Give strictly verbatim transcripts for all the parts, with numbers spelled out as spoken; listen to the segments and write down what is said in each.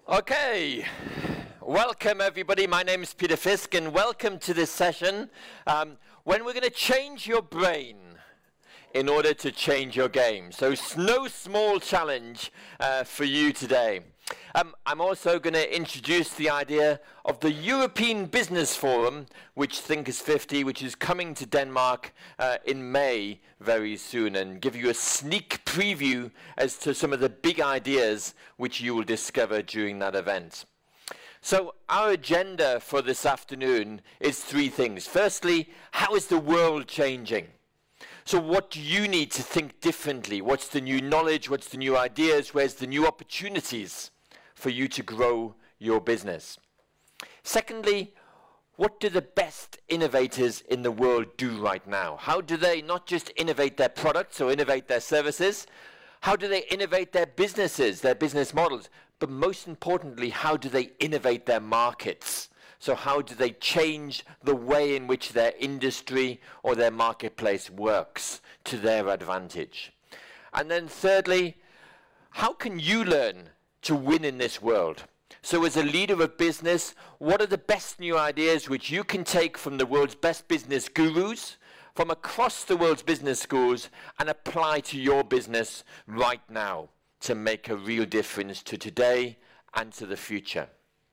Okay, welcome everybody. My name is Peter Fisk and welcome to this session um, when we're going to change your brain in order to change your game. So it's no small challenge uh, for you today. Um, I'm also going to introduce the idea of the European Business Forum, which Thinkers fifty, which is coming to Denmark uh, in May very soon, and give you a sneak preview as to some of the big ideas which you will discover during that event. So our agenda for this afternoon is three things. Firstly, how is the world changing? So what do you need to think differently? What's the new knowledge? What's the new ideas? Where's the new opportunities for you to grow your business? Secondly, what do the best innovators in the world do right now? How do they not just innovate their products or innovate their services? How do they innovate their businesses, their business models? But most importantly, how do they innovate their markets? So how do they change the way in which their industry or their marketplace works to their advantage? And then thirdly, how can you learn to win in this world? So as a leader of business, what are the best new ideas which you can take from the world's best business gurus, from across the world's business schools, and apply to your business right now to make a real difference to today and to the future?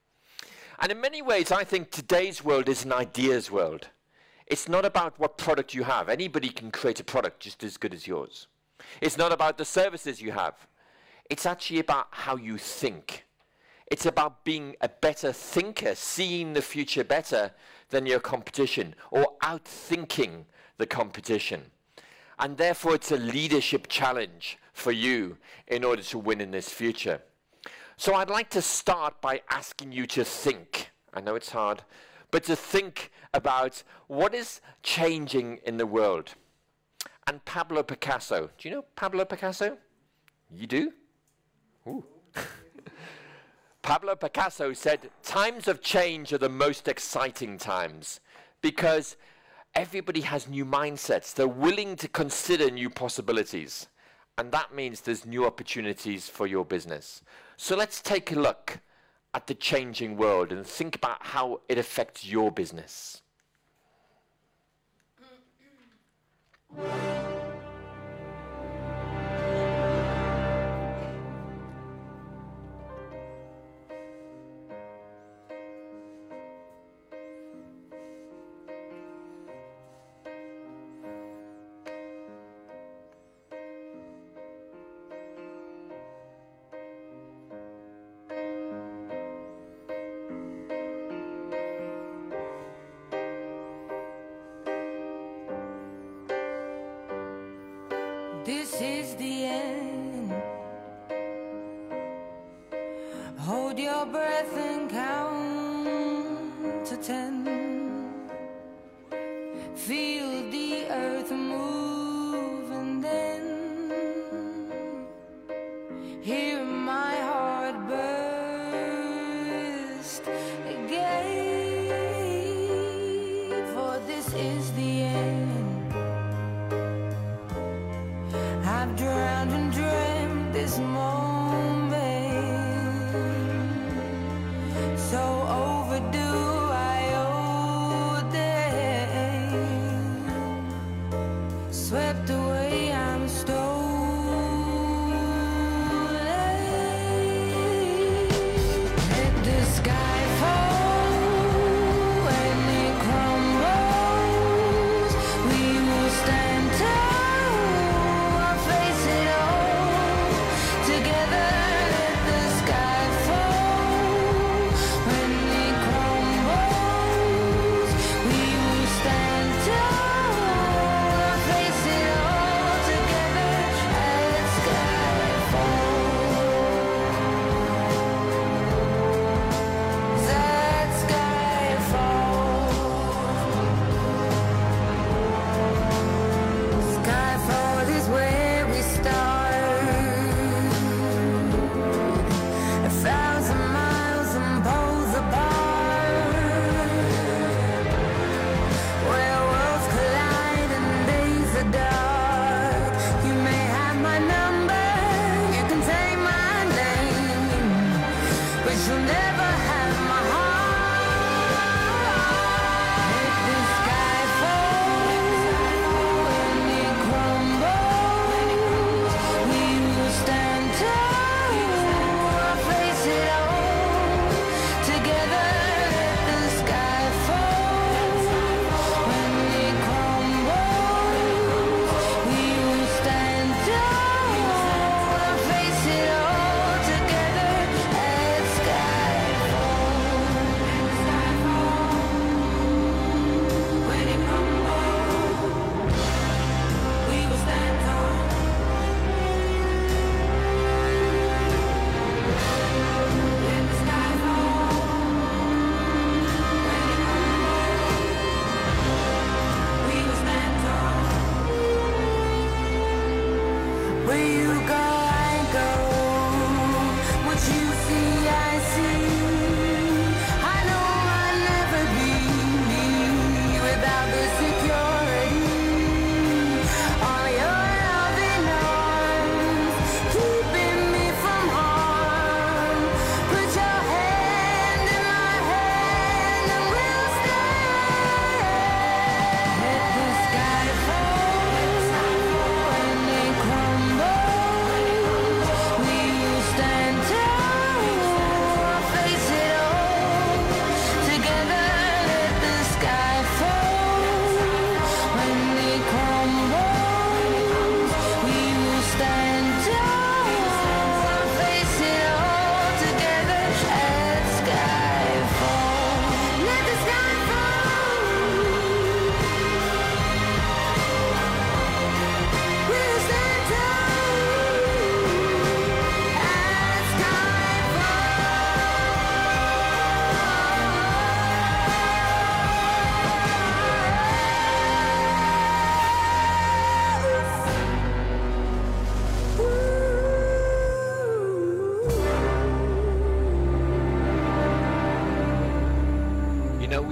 And in many ways, I think today's world is an ideas world. It's not about what product you have. Anybody can create a product just as good as yours. It's not about the services you have. It's actually about how you think. It's about being a better thinker, seeing the future better than your competition, or outthinking the competition. And therefore, it's a leadership challenge for you in order to win in this future. So I'd like to start by asking you to think. I know it's hard, but to think about what is changing in the world. And Pablo Picasso, do you know Pablo Picasso? You do? Ooh. Pablo Picasso said, times of change are the most exciting times because everybody has new mindsets. They're willing to consider new possibilities. And that means there's new opportunities for your business. So let's take a look at the changing world and think about how it affects your business. This is the end. Hold your breath and count to ten. Feel the earth move and then hear my heart burst again. For this is the end. I've drowned and dreamt this moment, so overdue I owe them. Swept away, I'm stolen. Let the sky fall and it crumbles.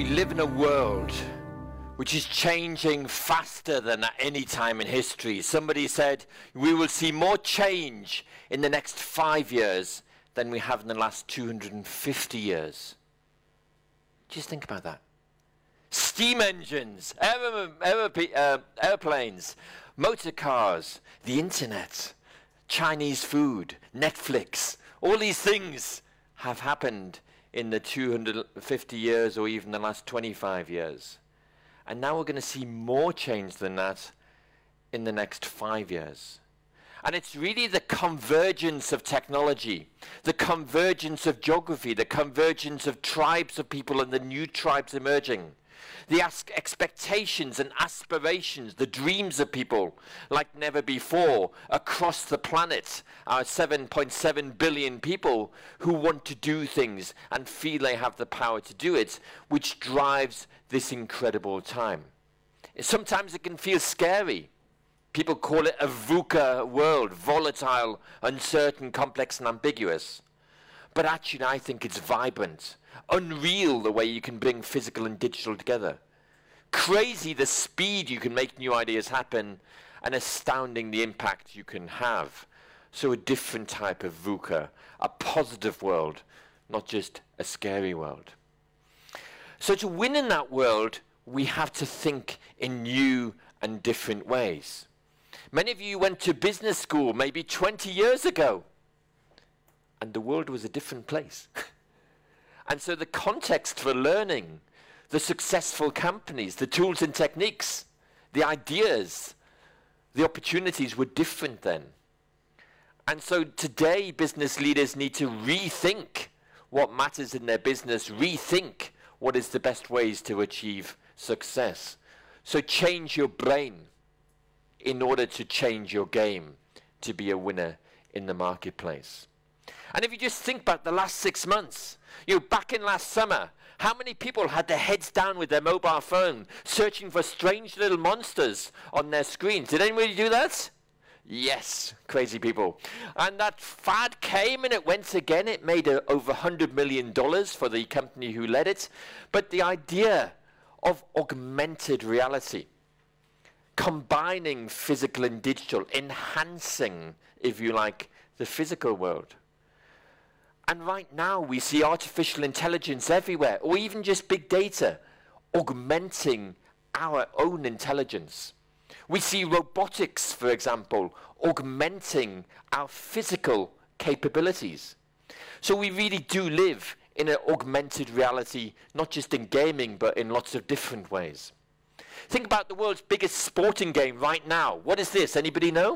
We live in a world which is changing faster than at any time in history. Somebody said we will see more change in the next five years than we have in the last two hundred fifty years. Just think about that. Steam engines, aer aer uh, airplanes, motor cars, the internet, Chinese food, Netflix, all these things have happened in the two hundred fifty years or even the last twenty-five years. And now we're going to see more change than that in the next five years. And it's really the convergence of technology, the convergence of geography, the convergence of tribes of people and the new tribes emerging, the expectations and aspirations, the dreams of people like never before across the planet, our seven point seven billion people who want to do things and feel they have the power to do it, which drives this incredible time. Sometimes it can feel scary. People call it a VUCA world, volatile, uncertain, complex, and ambiguous. But actually, I think it's vibrant, unreal the way you can bring physical and digital together. Crazy the speed you can make new ideas happen, and astounding the impact you can have. So a different type of VUCA, a positive world, not just a scary world. So to win in that world, we have to think in new and different ways. Many of you went to business school maybe twenty years ago, and the world was a different place. And so the context for learning, the successful companies, the tools and techniques, the ideas, the opportunities were different then. And so today business leaders need to rethink what matters in their business, rethink what is the best ways to achieve success. So change your brain in order to change your game to be a winner in the marketplace. And if you just think about the last six months, you know, back in last summer, how many people had their heads down with their mobile phone, searching for strange little monsters on their screens? Did anybody do that? Yes, crazy people. And that fad came and it went again. It made uh, over one hundred million dollars for the company who led it. But the idea of augmented reality, combining physical and digital, enhancing, if you like, the physical world. And right now we see artificial intelligence everywhere, or even just big data, augmenting our own intelligence. We see robotics, for example, augmenting our physical capabilities. So we really do live in an augmented reality, not just in gaming, but in lots of different ways. Think about the world's biggest sporting game right now. What is this? Anybody know?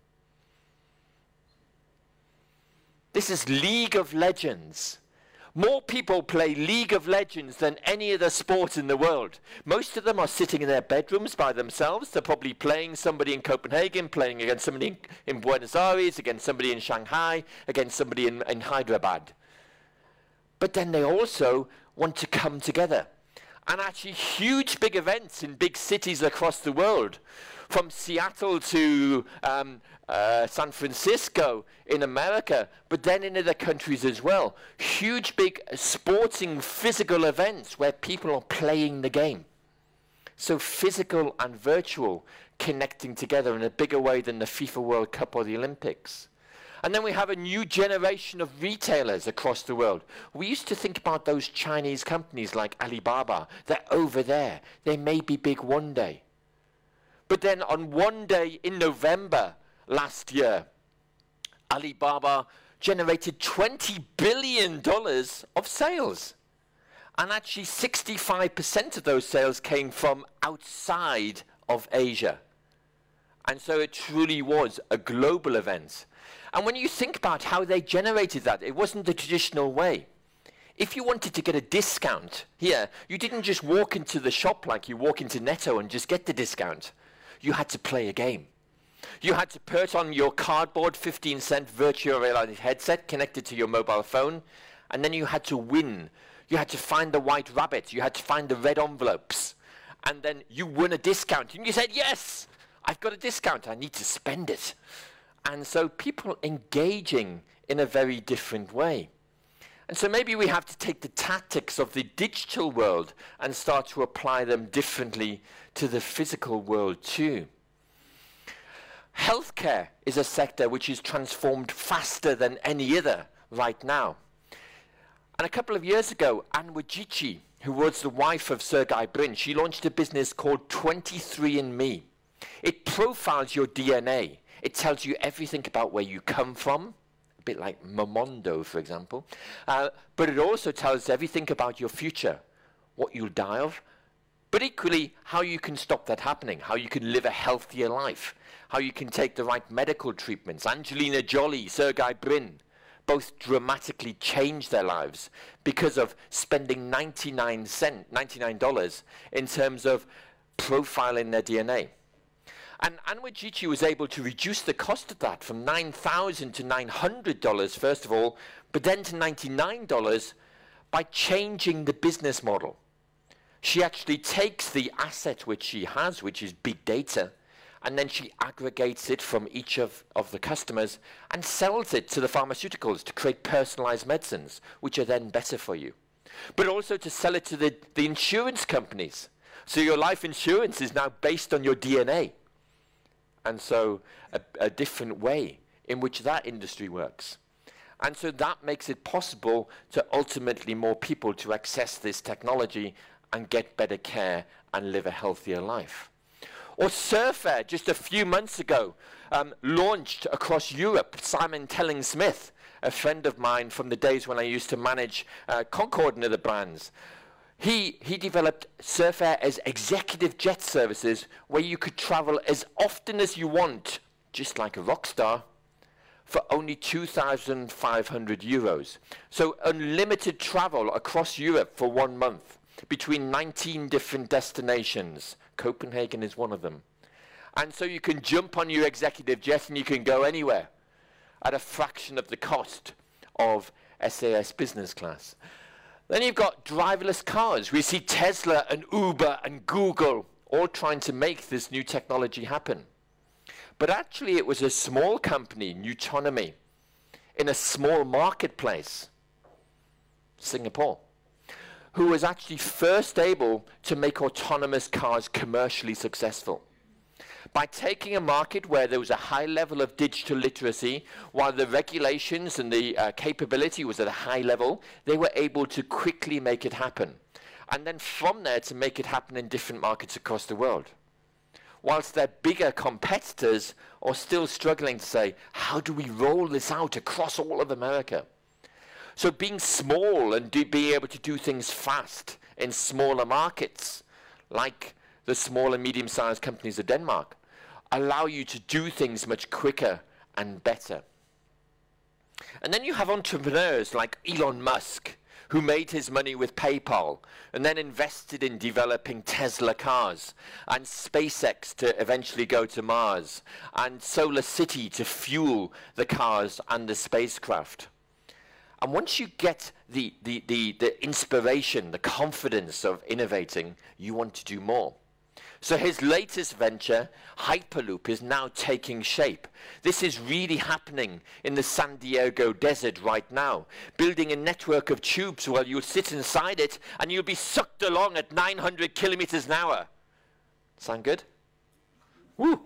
This is League of Legends. More people play League of Legends than any other sport in the world. Most of them are sitting in their bedrooms by themselves. They're probably playing somebody in Copenhagen, playing against somebody in, in Buenos Aires, against somebody in Shanghai, against somebody in, in Hyderabad. But then they also want to come together. And actually huge big events in big cities across the world, from Seattle to um, uh, San Francisco in America, but then in other countries as well. Huge big sporting physical events where people are playing the game. So physical and virtual connecting together in a bigger way than the FIFA World Cup or the Olympics. And then we have a new generation of retailers across the world. We used to think about those Chinese companies like Alibaba. They're over there. They may be big one day. But then on one day in November last year, Alibaba generated twenty billion dollars of sales. And actually sixty-five percent of those sales came from outside of Asia. And so it truly was a global event. And when you think about how they generated that, it wasn't the traditional way. If you wanted to get a discount here, you didn't just walk into the shop like you walk into Netto and just get the discount. You had to play a game. You had to put on your cardboard fifteen cent virtual reality headset connected to your mobile phone, and then you had to win. You had to find the white rabbit. You had to find the red envelopes. And then you won a discount. And you said, yes, I've got a discount. I need to spend it. And so people engaging in a very different way. And so maybe we have to take the tactics of the digital world and start to apply them differently to the physical world too. Healthcare is a sector which is transformed faster than any other right now. And a couple of years ago, Anne Wojcicki, who was the wife of Sergey Brin, she launched a business called twenty-three and me. It profiles your D N A. It tells you everything about where you come from, a bit like Momondo, for example. Uh, but it also tells everything about your future, what you'll die of, but equally how you can stop that happening, how you can live a healthier life, how you can take the right medical treatments. Angelina Jolie, Sergey Brin, both dramatically changed their lives because of spending ninety-nine cents, ninety-nine dollars in terms of profiling their D N A. And Anne Wojcicki was able to reduce the cost of that from nine thousand dollars to nine hundred dollars, first of all, but then to ninety-nine dollars by changing the business model. She actually takes the asset which she has, which is big data, and then she aggregates it from each of, of the customers and sells it to the pharmaceuticals to create personalized medicines, which are then better for you. But also to sell it to the, the insurance companies. So your life insurance is now based on your D N A. And so a, a different way in which that industry works. And so that makes it possible to ultimately more people to access this technology and get better care and live a healthier life. Or Surfair, just a few months ago, um, launched across Europe. Simon Telling-Smith, a friend of mine from the days when I used to manage uh, Concorde and other brands, He, he developed Surfair as executive jet services where you could travel as often as you want, just like a rock star, for only two thousand five hundred euros. So unlimited travel across Europe for one month between nineteen different destinations. Copenhagen is one of them. And so you can jump on your executive jet and you can go anywhere at a fraction of the cost of S A S business class. Then you've got driverless cars. We see Tesla and Uber and Google all trying to make this new technology happen. But actually it was a small company, Nutonomy, in a small marketplace, Singapore, who was actually first able to make autonomous cars commercially successful. By taking a market where there was a high level of digital literacy, while the regulations and the uh, capability was at a high level, they were able to quickly make it happen. And then from there to make it happen in different markets across the world. Whilst their bigger competitors are still struggling to say, how do we roll this out across all of America? So being small and do, being able to do things fast in smaller markets, like the small and medium-sized companies of Denmark, allow you to do things much quicker and better. And then you have entrepreneurs like Elon Musk, who made his money with PayPal and then invested in developing Tesla cars, and SpaceX to eventually go to Mars, and SolarCity to fuel the cars and the spacecraft. And once you get the, the, the, the inspiration, the confidence of innovating, you want to do more. So his latest venture, Hyperloop, is now taking shape. This is really happening in the San Diego desert right now, building a network of tubes where you'll sit inside it and you'll be sucked along at nine hundred kilometers an hour. Sound good? Woo!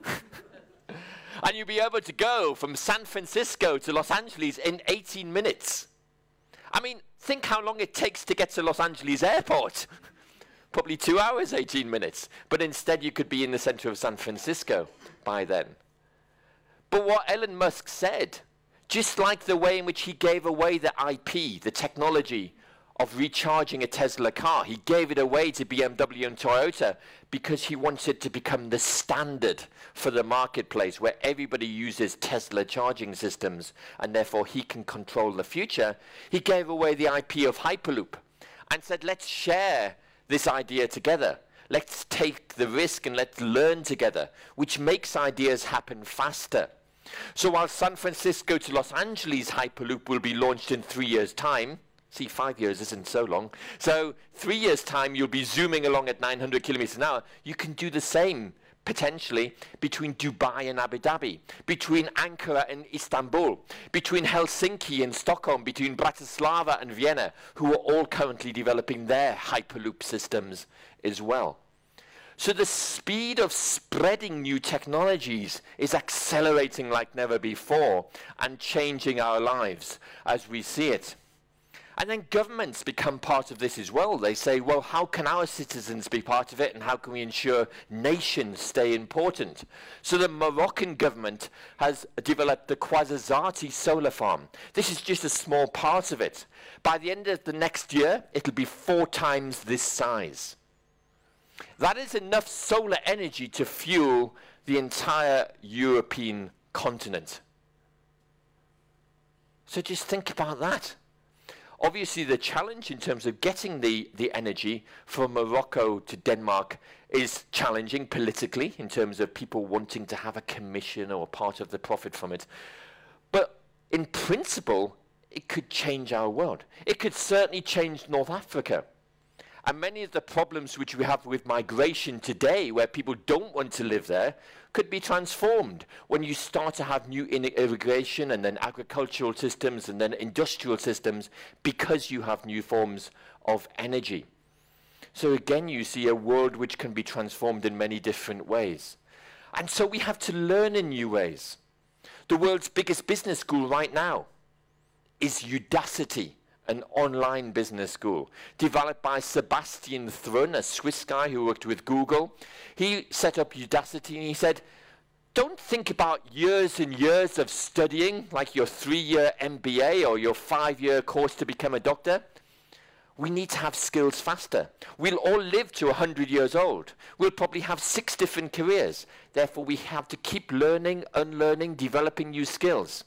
And you'll be able to go from San Francisco to Los Angeles in eighteen minutes. I mean, think how long it takes to get to Los Angeles airport. Probably two hours, eighteen minutes. But instead you could be in the center of San Francisco by then. But what Elon Musk said, just like the way in which he gave away the I P, the technology of recharging a Tesla car, he gave it away to B M W and Toyota because he wants it to become the standard for the marketplace where everybody uses Tesla charging systems and therefore he can control the future. He gave away the I P of Hyperloop and said, let's share this idea together. Let's take the risk and let's learn together, which makes ideas happen faster. So while San Francisco to Los Angeles Hyperloop will be launched in three years' time, see, five years isn't so long, so three years' time you'll be zooming along at nine hundred kilometers an hour, you can do the same potentially between Dubai and Abu Dhabi, between Ankara and Istanbul, between Helsinki and Stockholm, between Bratislava and Vienna, who are all currently developing their Hyperloop systems as well. So the speed of spreading new technologies is accelerating like never before and changing our lives as we see it. And then governments become part of this as well. They say, well, how can our citizens be part of it, and how can we ensure nations stay important? So the Moroccan government has developed the Ouarzazate solar farm. This is just a small part of it. By the end of the next year, it'll be four times this size. That is enough solar energy to fuel the entire European continent. So just think about that. Obviously, the challenge in terms of getting the, the energy from Morocco to Denmark is challenging politically in terms of people wanting to have a commission or part of the profit from it. But in principle, it could change our world. It could certainly change North Africa. And many of the problems which we have with migration today, where people don't want to live there, could be transformed when you start to have new irrigation and then agricultural systems and then industrial systems, because you have new forms of energy. So again, you see a world which can be transformed in many different ways. And so we have to learn in new ways. The world's biggest business school right now is Udacity, an online business school developed by Sebastian Thrun, a Swiss guy who worked with Google. He set up Udacity and he said, don't think about years and years of studying, like your three-year M B A or your five-year course to become a doctor. We need to have skills faster. We'll all live to one hundred years old. We'll probably have six different careers. Therefore, we have to keep learning, unlearning, developing new skills.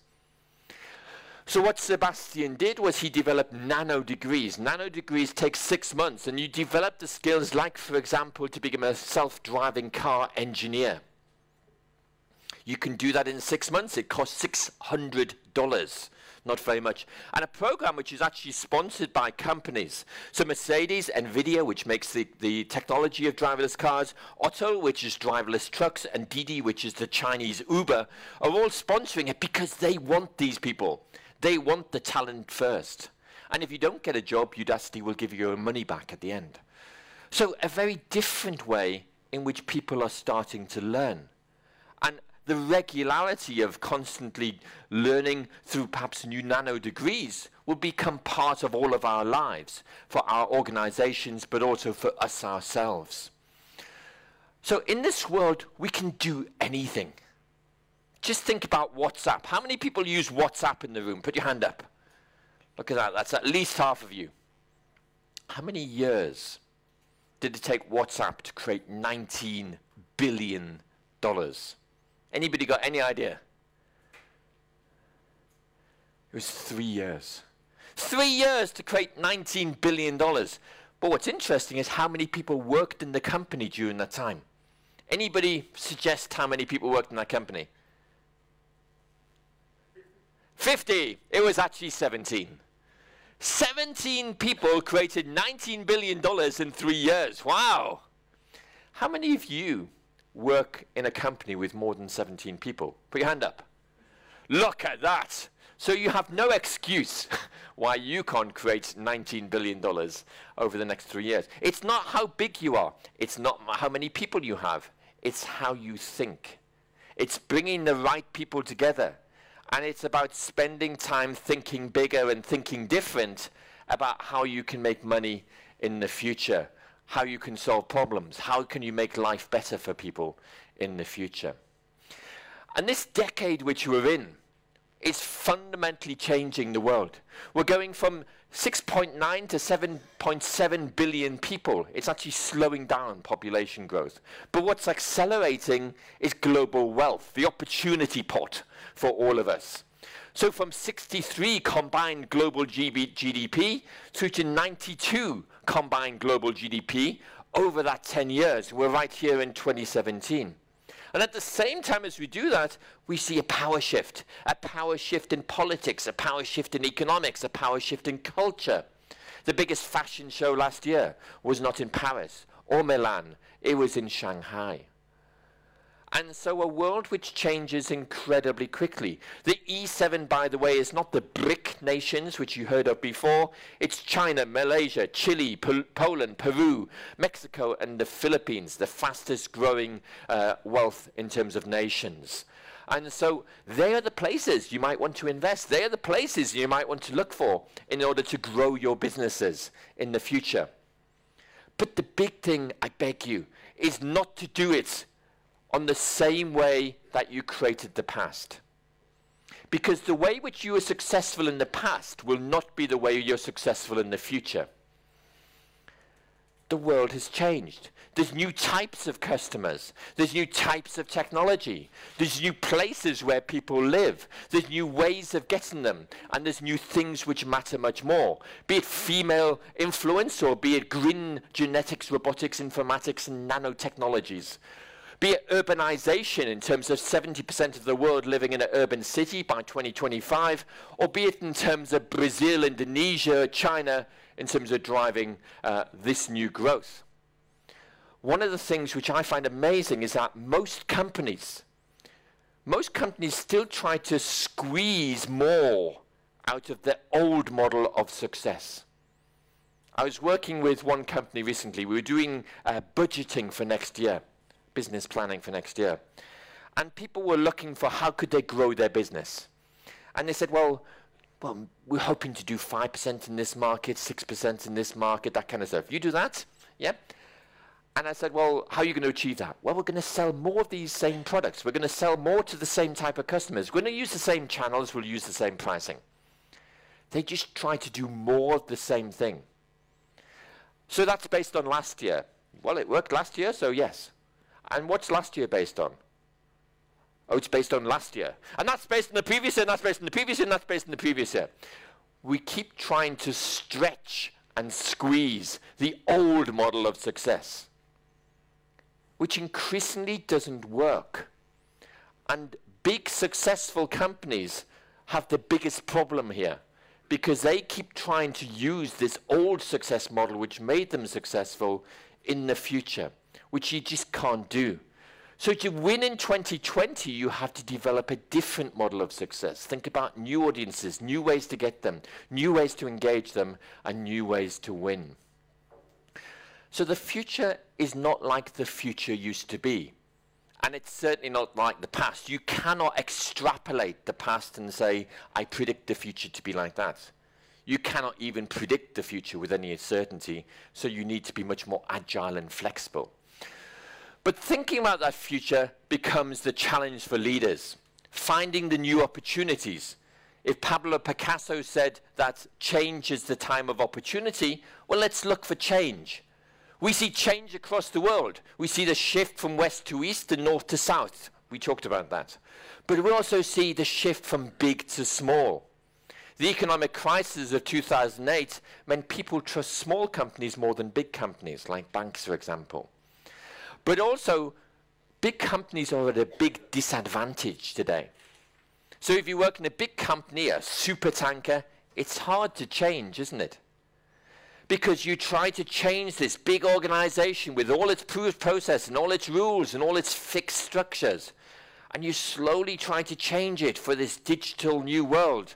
So what Sebastian did was he developed nano degrees. Nano degrees take six months, and you develop the skills like, for example, to become a self-driving car engineer. You can do that in six months. It costs six hundred dollars. Not very much. And a program which is actually sponsored by companies. So Mercedes, Nvidia, which makes the, the technology of driverless cars, Otto, which is driverless trucks, and Didi, which is the Chinese Uber, are all sponsoring it because they want these people. They want the talent first. And if you don't get a job, Udacity will give you your money back at the end. So a very different way in which people are starting to learn. And the regularity of constantly learning through perhaps new nano degrees will become part of all of our lives, for our organizations, but also for us ourselves. So in this world, we can do anything. Just think about WhatsApp. How many people use WhatsApp in the room? Put your hand up. Look at that. That's at least half of you. How many years did it take WhatsApp to create nineteen billion dollars? Anybody got any idea? It was three years. Three years to create nineteen billion dollars. But what's interesting is how many people worked in the company during that time. Anybody suggest how many people worked in that company? fifty. It was actually seventeen. seventeen people created nineteen billion dollars in three years. Wow. How many of you work in a company with more than seventeen people? Put your hand up. Look at that. So you have no excuse why you can't create nineteen billion dollars over the next three years. It's not how big you are. It's not how many people you have. It's how you think. It's bringing the right people together. And it's about spending time thinking bigger and thinking different about how you can make money in the future, how you can solve problems, how can you make life better for people in the future. And this decade which we're in is fundamentally changing the world. We're going from six point nine to seven point seven billion people. It's actually slowing down population growth. But what's accelerating is global wealth, the opportunity pot for all of us. So from sixty-three combined global G D P through to ninety-two combined global G D P over that ten years. We're right here in twenty seventeen. And at the same time as we do that, we see a power shift, a power shift in politics, a power shift in economics, a power shift in culture. The biggest fashion show last year was not in Paris or Milan, it was in Shanghai. And so a world which changes incredibly quickly. The E seven, by the way, is not the BRIC nations, which you heard of before. It's China, Malaysia, Chile, Pol Poland, Peru, Mexico, and the Philippines, the fastest growing uh, wealth in terms of nations. And so they are the places you might want to invest. They are the places you might want to look for in order to grow your businesses in the future. But the big thing, I beg you, is not to do it on the same way that you created the past. Because the way which you were successful in the past will not be the way you're successful in the future. The world has changed. There's new types of customers. There's new types of technology. There's new places where people live. There's new ways of getting them. And there's new things which matter much more. Be it female influence, or be it green genetics, robotics, informatics, and nanotechnologies. Be it urbanization in terms of seventy percent of the world living in an urban city by twenty twenty-five, or be it in terms of Brazil, Indonesia, China, in terms of driving uh, this new growth. One of the things which I find amazing is that most companies, most companies still try to squeeze more out of the old model of success. I was working with one company recently. We were doing uh, budgeting for next year. Business planning for next year. And people were looking for how could they grow their business. And they said, well, well we're hoping to do five percent in this market, six percent in this market, that kind of stuff. You do that? Yeah. And I said, well, how are you going to achieve that? Well, we're going to sell more of these same products. We're going to sell more to the same type of customers. We're going to use the same channels. We'll use the same pricing. They just try to do more of the same thing. So that's based on last year. Well, it worked last year, so yes. And what's last year based on? Oh, it's based on last year. And that's based on the previous year, and that's based on the previous year, and that's based on the previous year. We keep trying to stretch and squeeze the old model of success, which increasingly doesn't work. And big successful companies have the biggest problem here, because they keep trying to use this old success model which made them successful in the future, which you just can't do. So to win in twenty twenty, you have to develop a different model of success. Think about new audiences, new ways to get them, new ways to engage them, and new ways to win. So the future is not like the future used to be. And it's certainly not like the past. You cannot extrapolate the past and say, I predict the future to be like that. You cannot even predict the future with any certainty, so you need to be much more agile and flexible. But thinking about that future becomes the challenge for leaders, finding the new opportunities. If Pablo Picasso said that change is the time of opportunity, well, let's look for change. We see change across the world. We see the shift from west to east and north to south. We talked about that. But we also see the shift from big to small. The economic crisis of two thousand eight meant people trust small companies more than big companies, like banks, for example. But also, big companies are at a big disadvantage today. So if you work in a big company, a super tanker, it's hard to change, isn't it? Because you try to change this big organization with all its process and all its rules and all its fixed structures. And you slowly try to change it for this digital new world.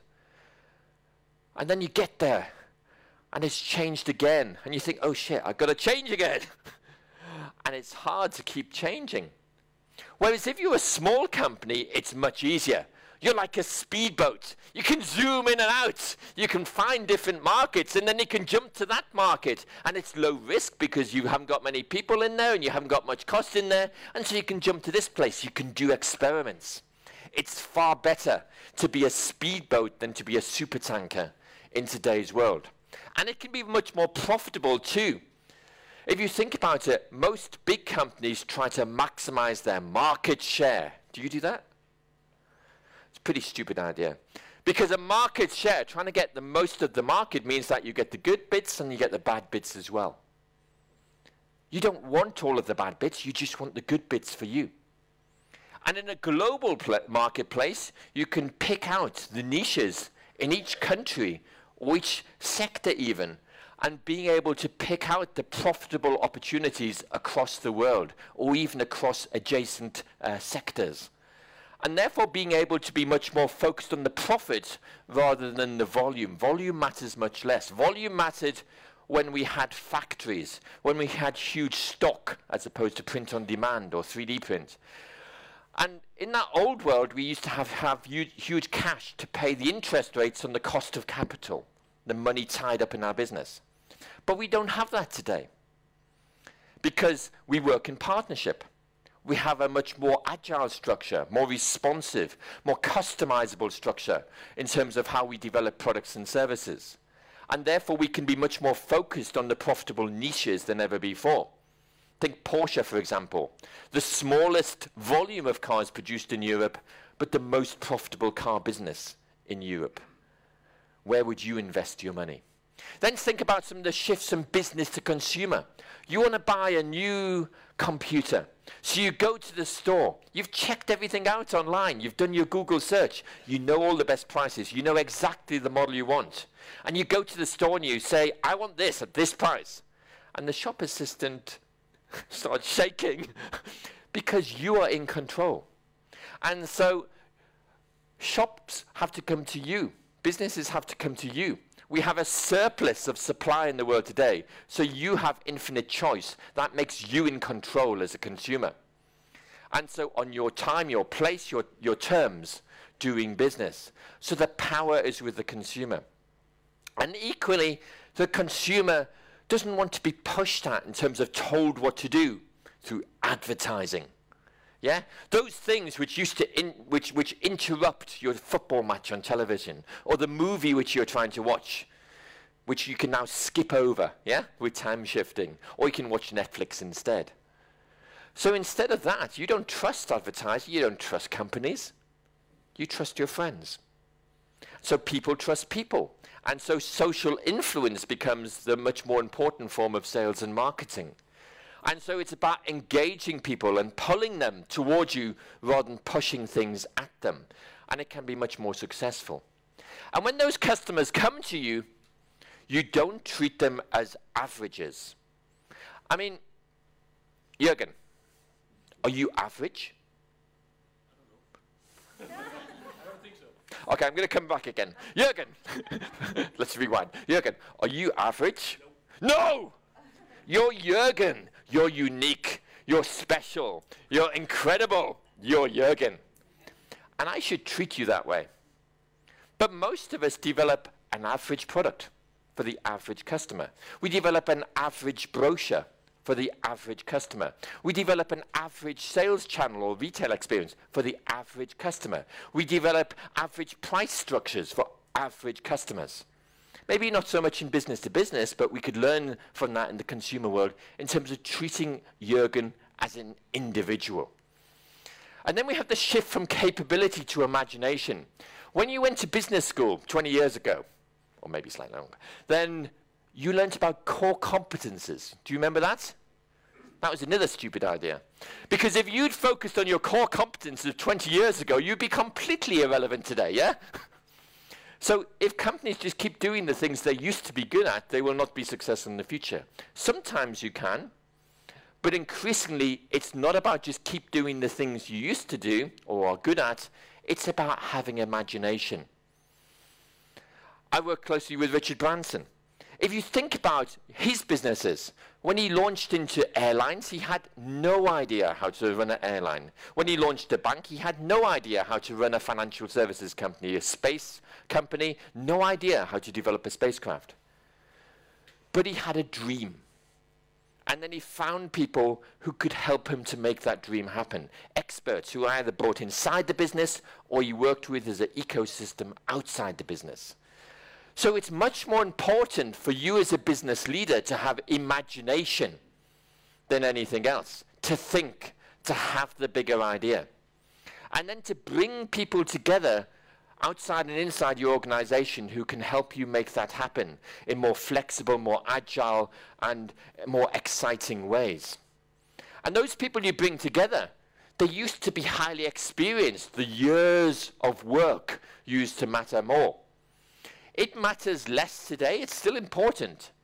And then you get there, and it's changed again. And you think, oh shit, I've got to change again. And it's hard to keep changing. Whereas if you're a small company, it's much easier. You're like a speedboat. You can zoom in and out. You can find different markets, and then you can jump to that market. And it's low risk because you haven't got many people in there, and you haven't got much cost in there. And so you can jump to this place. You can do experiments. It's far better to be a speedboat than to be a supertanker in today's world. And it can be much more profitable too. If you think about it, most big companies try to maximize their market share. Do you do that? It's a pretty stupid idea. Because a market share, trying to get the most of the market, means that you get the good bits and you get the bad bits as well. You don't want all of the bad bits, you just want the good bits for you. And in a global marketplace, you can pick out the niches in each country, or each sector even, and being able to pick out the profitable opportunities across the world or even across adjacent uh, sectors. And therefore being able to be much more focused on the profit rather than the volume. Volume matters much less. Volume mattered when we had factories, when we had huge stock as opposed to print on demand or three D print. And in that old world, we used to have, have huge, huge cash to pay the interest rates on the cost of capital, the money tied up in our business. But we don't have that today because we work in partnership. We have a much more agile structure, more responsive, more customizable structure in terms of how we develop products and services. And therefore, we can be much more focused on the profitable niches than ever before. Think Porsche, for example, the smallest volume of cars produced in Europe, but the most profitable car business in Europe. Where would you invest your money? Then think about some of the shifts from business to consumer. You want to buy a new computer. So you go to the store. You've checked everything out online. You've done your Google search. You know all the best prices. You know exactly the model you want. And you go to the store and you say, I want this at this price. And the shop assistant starts shaking because you are in control. And so shops have to come to you. Businesses have to come to you. We have a surplus of supply in the world today, so you have infinite choice. That makes you in control as a consumer. And so on your time, your place, your, your terms, doing business. So the power is with the consumer. And equally, the consumer doesn't want to be pushed at in terms of told what to do through advertising. Yeah? Those things which used to in, which which interrupt your football match on television, or the movie which you're trying to watch, which you can now skip over, yeah, with time shifting, or you can watch Netflix instead. So instead of that, you don't trust advertising, you don't trust companies, you trust your friends. So people trust people, and so social influence becomes the much more important form of sales and marketing. And so it's about engaging people and pulling them towards you rather than pushing things at them. And it can be much more successful. And when those customers come to you, you don't treat them as averages. I mean, Jürgen, are you average? I don't think so. Okay, I'm going to come back again. Jürgen, let's rewind. Jürgen, are you average? No! No! You're Jürgen. You're unique. You're special. You're incredible. You're Jürgen. And I should treat you that way. But most of us develop an average product for the average customer. We develop an average brochure for the average customer. We develop an average sales channel or retail experience for the average customer. We develop average price structures for average customers. Maybe not so much in business to business, but we could learn from that in the consumer world in terms of treating Jürgen as an individual. And then we have the shift from capability to imagination. When you went to business school twenty years ago, or maybe slightly longer, then you learned about core competences. Do you remember that? That was another stupid idea. Because if you'd focused on your core competences of twenty years ago, you'd be completely irrelevant today, yeah? So if companies just keep doing the things they used to be good at, they will not be successful in the future. Sometimes you can, but increasingly it's not about just keep doing the things you used to do or are good at, it's about having imagination. I work closely with Richard Branson. If you think about his businesses, when he launched into airlines, he had no idea how to run an airline. When he launched a bank, he had no idea how to run a financial services company, a space company, no idea how to develop a spacecraft. But he had a dream. And then he found people who could help him to make that dream happen. Experts who either brought inside the business or he worked with as an ecosystem outside the business. So it's much more important for you as a business leader to have imagination than anything else, to think, to have the bigger idea. And then to bring people together outside and inside your organization who can help you make that happen in more flexible, more agile, and more exciting ways. And those people you bring together, they used to be highly experienced. The years of work used to matter more. It matters less today. It's still important.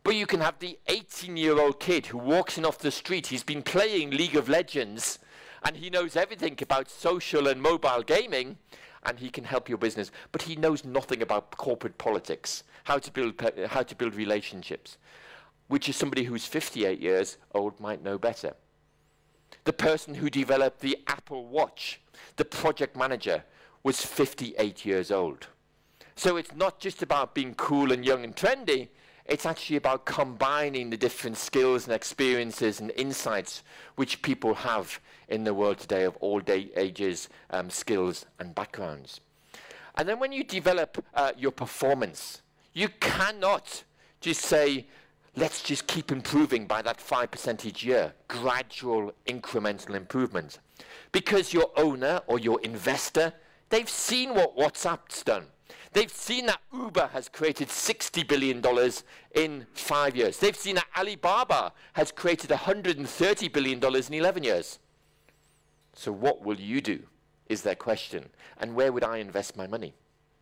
But you can have the eighteen-year-old kid who walks in off the street. He's been playing League of Legends, and he knows everything about social and mobile gaming, and he can help your business. But he knows nothing about corporate politics, how to build, pe- how to build relationships, which is somebody who's fifty-eight years old might know better. The person who developed the Apple Watch, the project manager, was fifty-eight years old. So it's not just about being cool and young and trendy. It's actually about combining the different skills and experiences and insights which people have in the world today of all day ages, um, skills and backgrounds. And then when you develop uh, your performance, you cannot just say, let's just keep improving by that five percent each year, gradual incremental improvement. Because your owner or your investor, they've seen what WhatsApp's done. They've seen that Uber has created sixty billion dollars in five years. They've seen that Alibaba has created one hundred thirty billion dollars in eleven years. So what will you do, is their question. And where would I invest my money?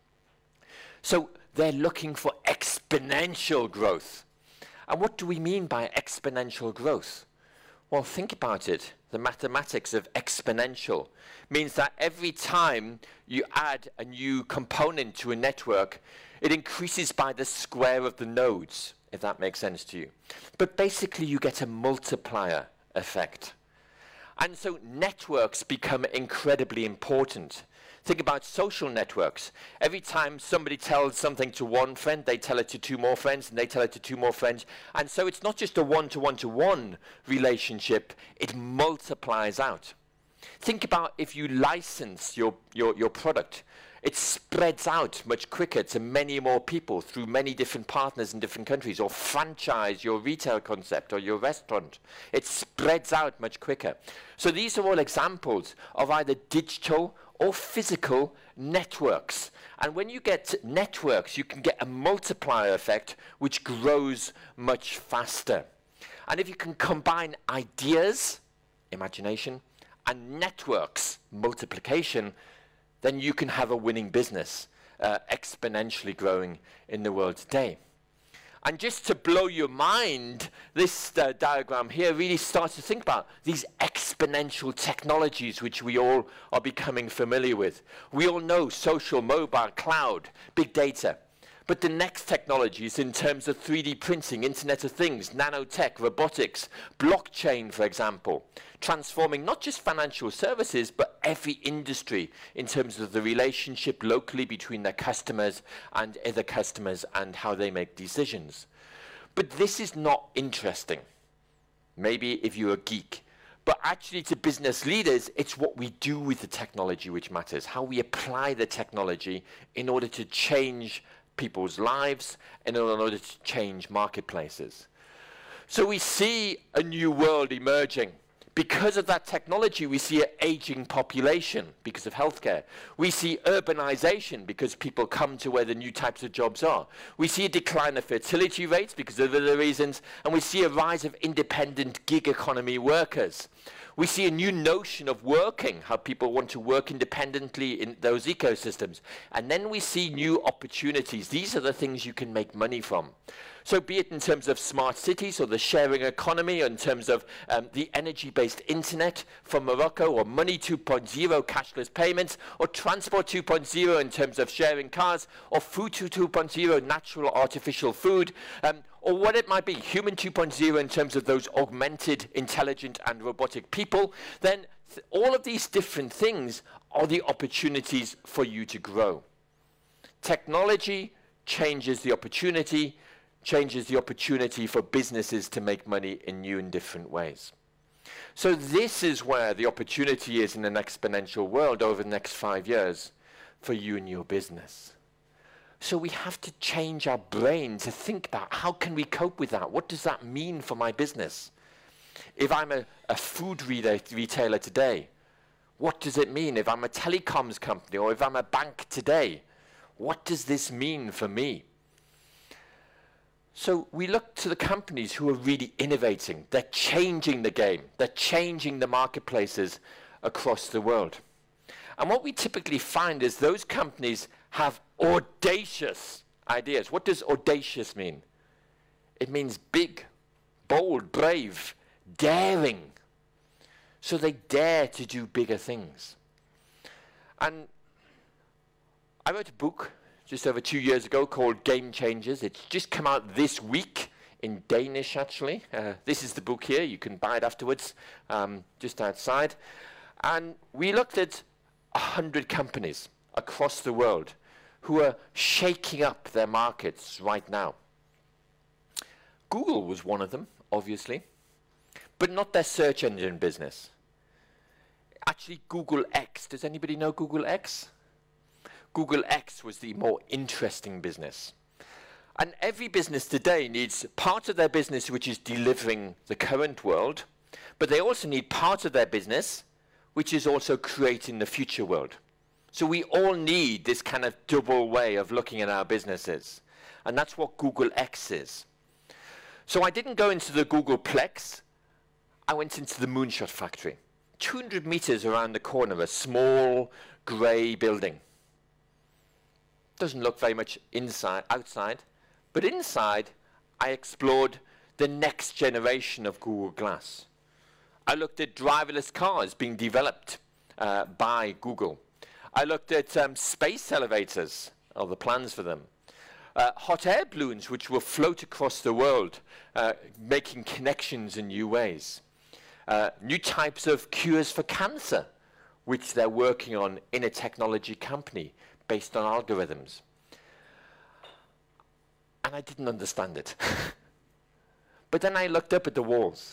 So they're looking for exponential growth. And what do we mean by exponential growth? Well, think about it. The mathematics of exponential means that every time you add a new component to a network, it increases by the square of the nodes, if that makes sense to you. But basically, you get a multiplier effect. And so networks become incredibly important. Think about social networks. Every time somebody tells something to one friend, they tell it to two more friends, and they tell it to two more friends. And so it's not just a one-to-one-to-one relationship, it multiplies out. Think about if you license your, your, your product. It spreads out much quicker to many more people through many different partners in different countries, or franchise your retail concept or your restaurant. It spreads out much quicker. So these are all examples of either digital or physical networks. And when you get networks, you can get a multiplier effect which grows much faster. And if you can combine ideas, imagination, and networks, multiplication, then you can have a winning business, uh, exponentially growing in the world today. And just to blow your mind, this uh, diagram here really starts to think about these exponential technologies which we all are becoming familiar with. We all know social, mobile, cloud, big data. But the next technologies in terms of three D printing, Internet of Things, nanotech, robotics, blockchain, for example, transforming not just financial services, but every industry in terms of the relationship locally between their customers and other customers and how they make decisions. But this is not interesting. Maybe if you're a geek. But actually to business leaders, it's what we do with the technology which matters, how we apply the technology in order to change people's lives and in order to change marketplaces. So we see a new world emerging. Because of that technology, we see an aging population because of healthcare. We see urbanization because people come to where the new types of jobs are. We see a decline of fertility rates because of other reasons, and we see a rise of independent gig economy workers. We see a new notion of working, how people want to work independently in those ecosystems. And then we see new opportunities. These are the things you can make money from. So be it in terms of smart cities or the sharing economy, or in terms of um, the energy-based internet from Morocco, or money two point oh, cashless payments, or transport two point oh in terms of sharing cars, or food two point oh, natural artificial food, um, or what it might be, human two point oh in terms of those augmented, intelligent and robotic people, then th- all of these different things are the opportunities for you to grow. Technology changes the opportunity, changes the opportunity for businesses to make money in new and different ways. So this is where the opportunity is in an exponential world over the next five years for you and your business. So we have to change our brain to think about how can we cope with that? What does that mean for my business? If I'm a, a food reta- retailer today, what does it mean? If I'm a telecoms company or if I'm a bank today, what does this mean for me? So we look to the companies who are really innovating. They're changing the game. They're changing the marketplaces across the world. And what we typically find is those companies have audacious ideas. What does audacious mean? It means big, bold, brave, daring. So they dare to do bigger things. And I wrote a book just over two years ago called Game Changers. It's just come out this week in Danish, actually. Uh, this is the book here. You can buy it afterwards, um, just outside. And we looked at a hundred companies across the world who are shaking up their markets right now. Google was one of them, obviously, but not their search engine business. Actually, Google X. Does anybody know Google X? Google X was the more interesting business. And every business today needs part of their business which is delivering the current world, but they also need part of their business which is also creating the future world. So we all need this kind of double way of looking at our businesses. And that's what Google X is. So I didn't go into the Googleplex. I went into the Moonshot Factory. two hundred meters around the corner, a small grey building. Doesn't look very much inside, outside, but inside I explored the next generation of Google Glass. I looked at driverless cars being developed uh, by Google. I looked at um, space elevators, or the plans for them. Uh, hot air balloons which will float across the world, uh, making connections in new ways. Uh, new types of cures for cancer, which they're working on in a technology company based on algorithms. And I didn't understand it. But then I looked up at the walls.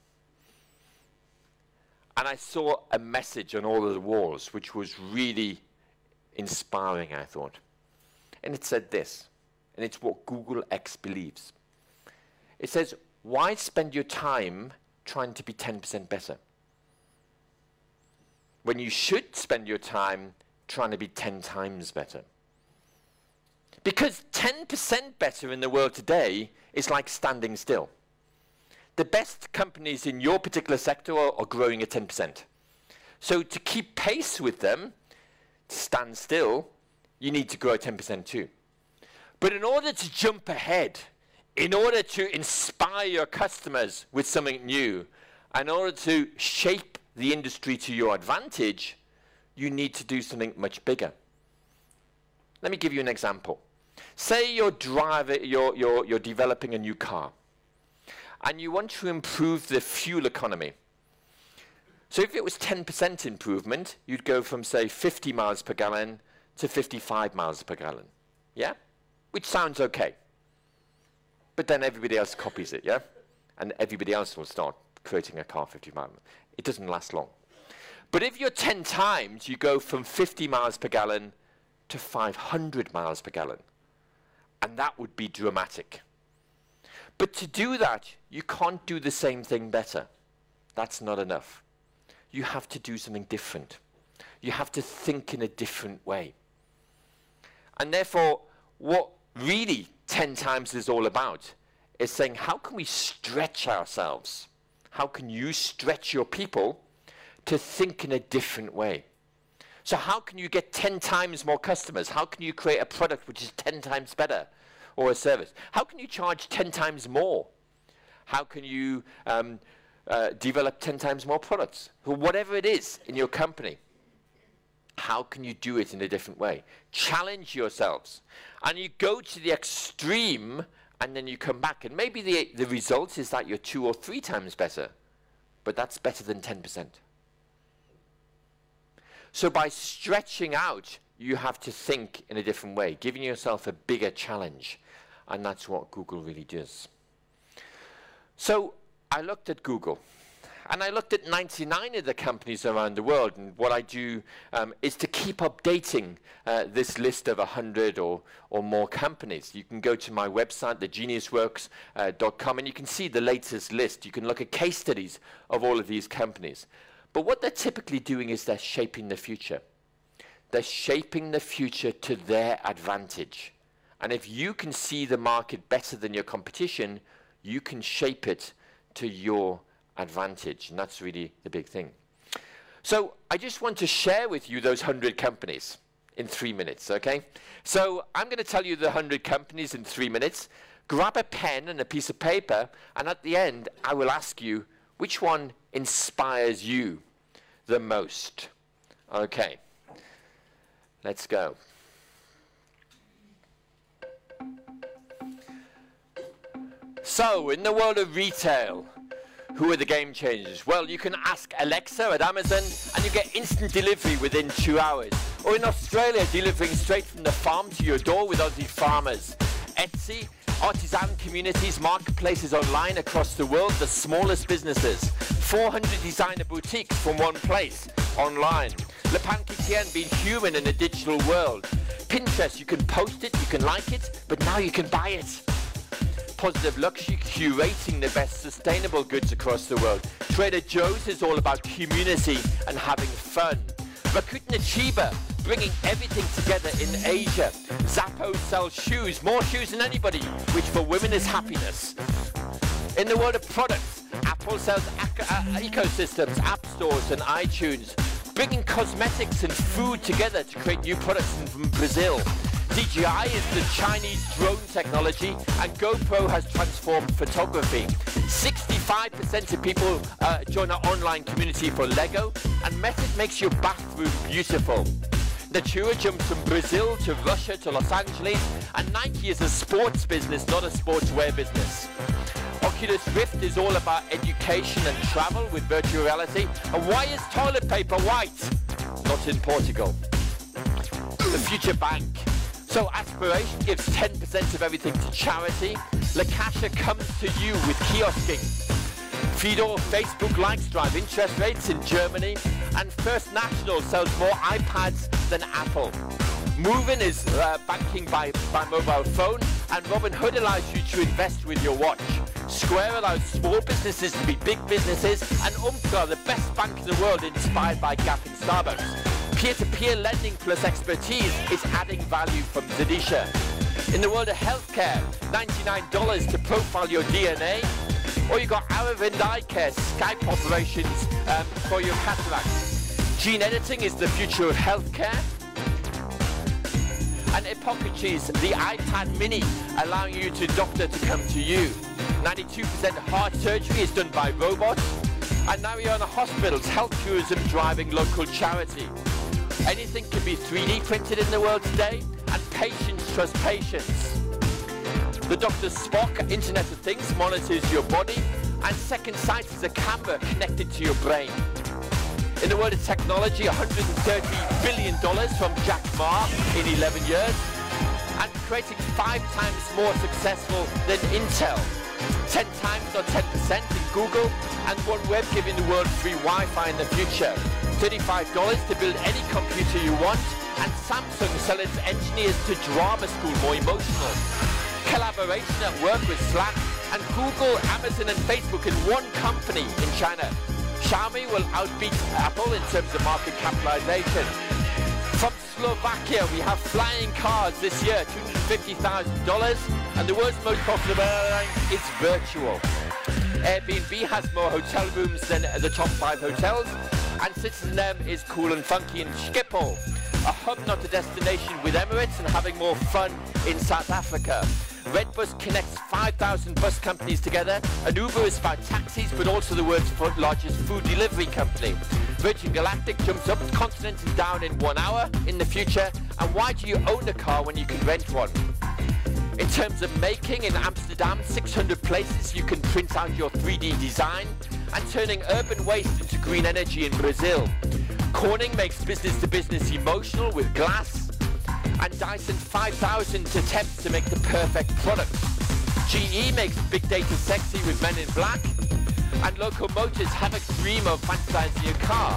And I saw a message on all of the walls, which was really inspiring, I thought. And it said this, and it's what Google X believes. It says, why spend your time trying to be ten percent better when you should spend your time trying to be ten times better? Because ten percent better in the world today is like standing still. The best companies in your particular sector are, are growing at ten percent. So to keep pace with them, to stand still, you need to grow at ten percent too. But in order to jump ahead, in order to inspire your customers with something new, in order to shape the industry to your advantage, you need to do something much bigger. Let me give you an example. Say you're, driver, you're, you're, you're developing a new car, and you want to improve the fuel economy. So if it was ten percent improvement, you'd go from, say, fifty miles per gallon to fifty-five miles per gallon. Yeah? Which sounds okay. But then everybody else copies it, yeah? And everybody else will start creating a car fifty miles. It doesn't last long. But if you're ten times, you go from fifty miles per gallon to five hundred miles per gallon. And that would be dramatic. But to do that, you can't do the same thing better. That's not enough. You have to do something different. You have to think in a different way. And therefore, what really ten times is all about is saying, how can we stretch ourselves? How can you stretch your people to think in a different way? So how can you get ten times more customers? How can you create a product which is ten times better, or a service? How can you charge ten times more? How can you um, uh, develop ten times more products? Or whatever it is in your company, how can you do it in a different way? Challenge yourselves. And you go to the extreme, and then you come back. And maybe the, the result is that you're two or three times better. But that's better than ten percent. So by stretching out, you have to think in a different way, giving yourself a bigger challenge. And that's what Google really does. So I looked at Google. And I looked at ninety-nine of the companies around the world. And what I do um, is to keep updating uh, this list of one hundred or, or more companies. You can go to my website, the genius works dot com, and you can see the latest list. You can look at case studies of all of these companies. But what they're typically doing is they're shaping the future. They're shaping the future to their advantage. And if you can see the market better than your competition, you can shape it to your advantage. And that's really the big thing. So I just want to share with you those one hundred companies in three minutes, okay? So I'm going to tell you the one hundred companies in three minutes. grab a pen and a piece of paper, and at the end, I will ask you, which one inspires you the most? Okay, let's go. So, in the world of retail, who are the game changers? Well, you can ask Alexa at Amazon and you get instant delivery within two hours. Or in Australia, delivering straight from the farm to your door with Aussie farmers. Etsy, artisan communities, marketplaces online across the world, the smallest businesses. four hundred designer boutiques from one place, online. Le Pain Quotidien being human in a digital world. Pinterest, you can post it, you can like it, but now you can buy it. Positive Luxury, curating the best sustainable goods across the world. Trader Joe's is all about community and having fun. Rakuten Chiba, bringing everything together in Asia. Zappos sells shoes, more shoes than anybody, which for women is happiness. In the world of products, Apple sells ac uh, ecosystems, app stores and iTunes, bringing cosmetics and food together to create new products from Brazil. D J I is the Chinese drone technology, and GoPro has transformed photography. sixty-five percent of people uh, join our online community for Lego, and Method makes your bathroom beautiful. Natura jumps from Brazil to Russia to Los Angeles, and Nike is a sports business, not a sportswear business. Oculus Rift is all about education and travel with virtual reality. And why is toilet paper white? Not in Portugal. The Future Bank. So Aspiration gives ten percent of everything to charity. La Caixa comes to you with kiosking. Fidor, Facebook likes drive interest rates in Germany. And First National sells more iPads than Apple. Movin is uh, banking by, by mobile phone. And Robinhood allows you to invest with your watch. Square allows small businesses to be big businesses. And Umtra, the best bank in the world, inspired by Gap and Starbucks. Peer-to-peer lending plus expertise is adding value from Zadisha. In the world of healthcare, ninety-nine dollars to profile your D N A. Or you got Aravind Eye Care, Skype operations um, for your cataracts. Gene editing is the future of healthcare. And Hippocrates, the iPad mini, allowing you to doctor to come to you. ninety-two percent of heart surgery is done by robots. And Mariana Hospitals, health tourism driving local charity. Anything can be three D printed in the world today, and patients trust patients. The Doctor Spock, Internet of Things, monitors your body, and Second Sight is a camera connected to your brain. In the world of technology, one hundred thirty billion dollars from Jack Ma in eleven years, and creating five times more successful than Intel. ten times or ten percent in Google, and OneWeb giving the world free Wi-Fi in the future. thirty-five dollars to build any computer you want, and Samsung sells its engineers to drama school, more emotional. Collaboration at work with Slack, and Google, Amazon and Facebook in one company in China. Xiaomi will outbeat Apple in terms of market capitalization. From Slovakia, we have flying cars this year, two hundred fifty thousand dollars, and the world's most profitable airline is virtual. Airbnb has more hotel rooms than the top five hotels, and Citizen is cool and funky in Schiphol, a hub not a destination with Emirates, and having more fun in South Africa. Redbus connects five thousand bus companies together, and Uber is about taxis but also the world's largest food delivery company. Virgin Galactic jumps up continents and down in one hour in the future, and why do you own a car when you can rent one? In terms of making, in Amsterdam, six hundred places you can print out your three D design, and turning urban waste into green energy in Brazil. Corning makes business-to-business emotional with glass, and Dyson five thousand attempts to make the perfect product. G E makes big data sexy with Men in Black, and Local Motors have a dream of fantasizing a car.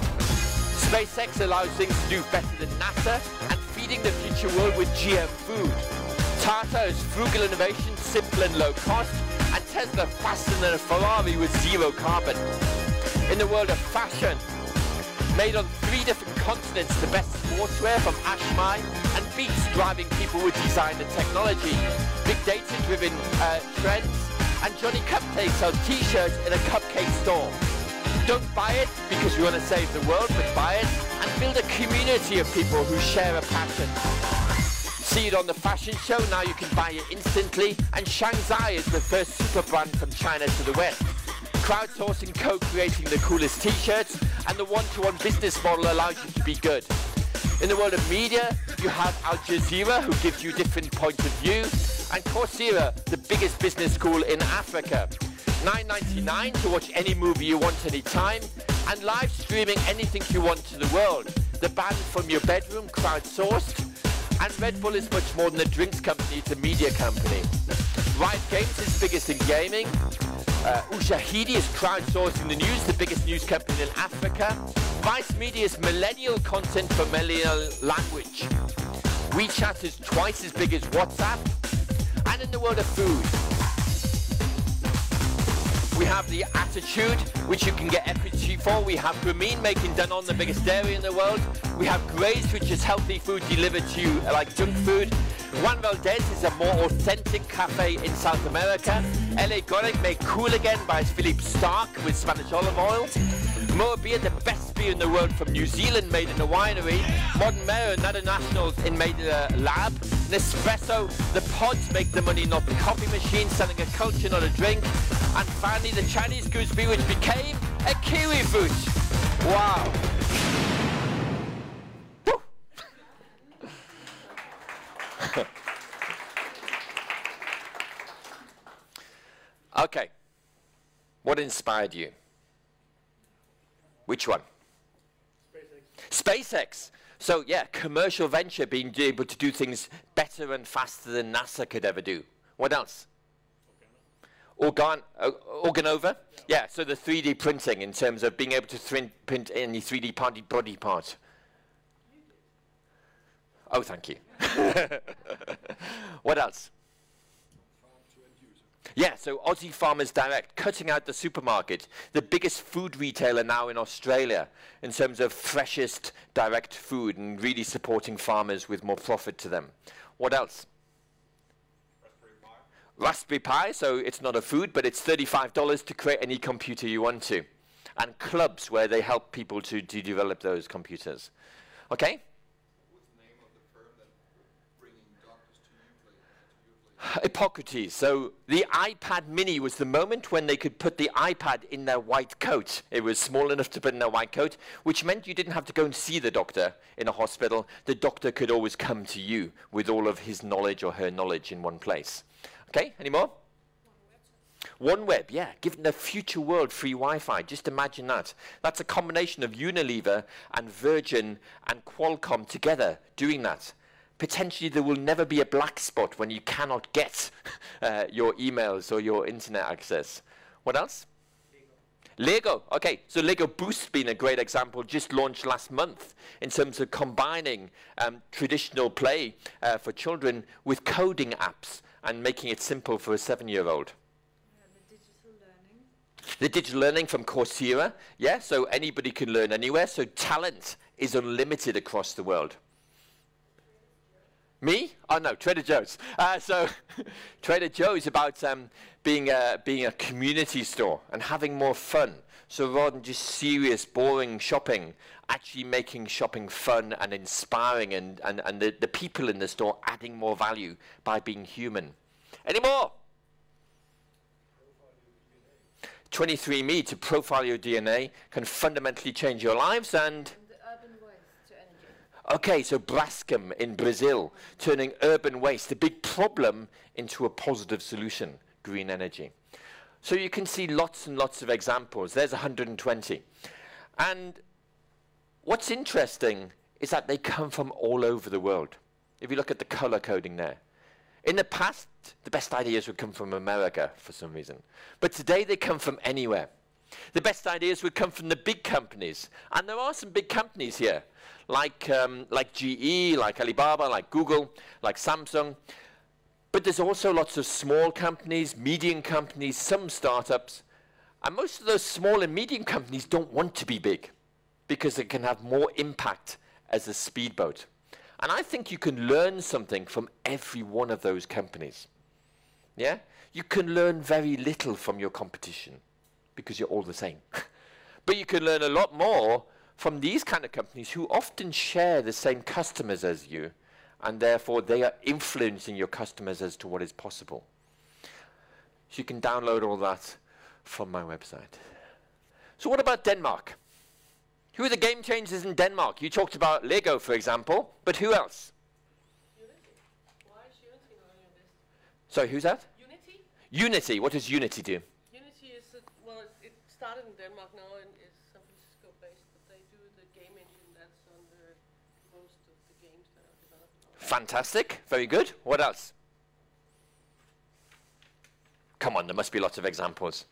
SpaceX allows things to do better than NASA, and feeding the future world with G M food. Tata is frugal innovation, simple and low cost, and Tesla faster than a Ferrari with zero carbon. In the world of fashion, made on three different continents, the best sportswear from Ashmai, and Beats driving people with design and technology. Big data-driven uh, trends, and Johnny Cupcake sells t-shirts in a cupcake store. Don't buy it because we want to save the world, but buy it and build a community of people who share a passion. See it on the fashion show, now you can buy it instantly. And Shanghai is the first super brand from China to the West. Crowdsourcing, co-creating the coolest t-shirts, and the one-to-one business model allows you to be good. In the world of media, you have Al Jazeera, who gives you different points of view, and Coursera, the biggest business school in Africa. nine ninety-nine to watch any movie you want anytime, and live streaming anything you want to the world. The band from your bedroom, crowdsourced, and Red Bull is much more than a drinks company, it's a media company. Riot Games is biggest in gaming. Uh, Ushahidi is crowdsourcing the news, the biggest news company in Africa. Vice Media is millennial content for millennial language. WeChat is twice as big as WhatsApp. And in the world of food, we have the Attitude, which you can get equity for. We have Grameen making Danone the biggest dairy in the world. We have Graze, which is healthy food delivered to you like junk food. Juan Valdez is a more authentic cafe in South America. L A Gonic made cool again by Philippe Stark with Spanish olive oil. Moa Beer, the best beer in the world from New Zealand, made in a winery. Modern Mayo, another nationals in made in a lab. Nespresso, the pods make the money, not the coffee machine, selling a culture, not a drink. And finally, the Chinese goose beer, which became a kiwi fruit. Wow. Okay. What inspired you? Which one? SpaceX. SpaceX. So yeah, commercial venture, being able to do things better and faster than NASA could ever do. What else? Organ uh, Organova? Yeah. yeah, so the three D printing in terms of being able to print any three D party body part. Oh, thank you. What else? Yeah, so Aussie Farmers Direct, cutting out the supermarket, the biggest food retailer now in Australia in terms of freshest direct food and really supporting farmers with more profit to them. What else? Raspberry Pi. Raspberry Pi, so it's not a food, but it's thirty-five dollars to create any computer you want to. And clubs where they help people to, to develop those computers. Okay? Hippocrates. So the iPad mini was the moment when they could put the iPad in their white coat. It was small enough to put in their white coat, which meant you didn't have to go and see the doctor in a hospital. The doctor could always come to you with all of his knowledge or her knowledge in one place. Okay, any more? OneWeb, yeah, giving the future world free Wi-Fi. Just imagine that. That's a combination of Unilever and Virgin and Qualcomm together doing that. Potentially there will never be a black spot when you cannot get uh, your emails or your internet access. What else? Lego. Lego. Okay, so Lego Boost being a great example, just launched last month in terms of combining um, traditional play uh, for children with coding apps and making it simple for a seven-year-old. Yeah, the digital learning. The digital learning from Coursera, yeah, so anybody can learn anywhere, so talent is unlimited across the world. Me? Oh no, Trader Joe's. Uh, so Trader Joe's about um, being, a, being a community store and having more fun. So rather than just serious, boring shopping, actually making shopping fun and inspiring and, and, and the, the people in the store adding more value by being human. Any more? twenty-three and me to profile your D N A can fundamentally change your lives and... Okay, so Braskem in Brazil, turning urban waste, a big problem, into a positive solution, green energy. So you can see lots and lots of examples. There's one hundred twenty. And what's interesting is that they come from all over the world. If you look at the color coding there. In the past, the best ideas would come from America for some reason. But today they come from anywhere. The best ideas would come from the big companies. And there are some big companies here. Like, um, like G E, like Alibaba, like Google, like Samsung. But there's also lots of small companies, medium companies, some startups. And most of those small and medium companies don't want to be big because they can have more impact as a speedboat. And I think you can learn something from every one of those companies. Yeah? You can learn very little from your competition because you're all the same. But you can learn a lot more from these kind of companies who often share the same customers as you and therefore they are influencing your customers as to what is possible. So you can download all that from my website. So what about Denmark? Who are the game changers in Denmark? You talked about Lego, for example, but who else? Unity. Why is Unity not on your list? Sorry, who's that? Unity? Unity. What does Unity do? Unity is, a, well, it, it started in Denmark now and is San Francisco based, but they do the game engine that's on the most of the games that are developed now. Fantastic. Very good. What else? Come on, there must be lots of examples.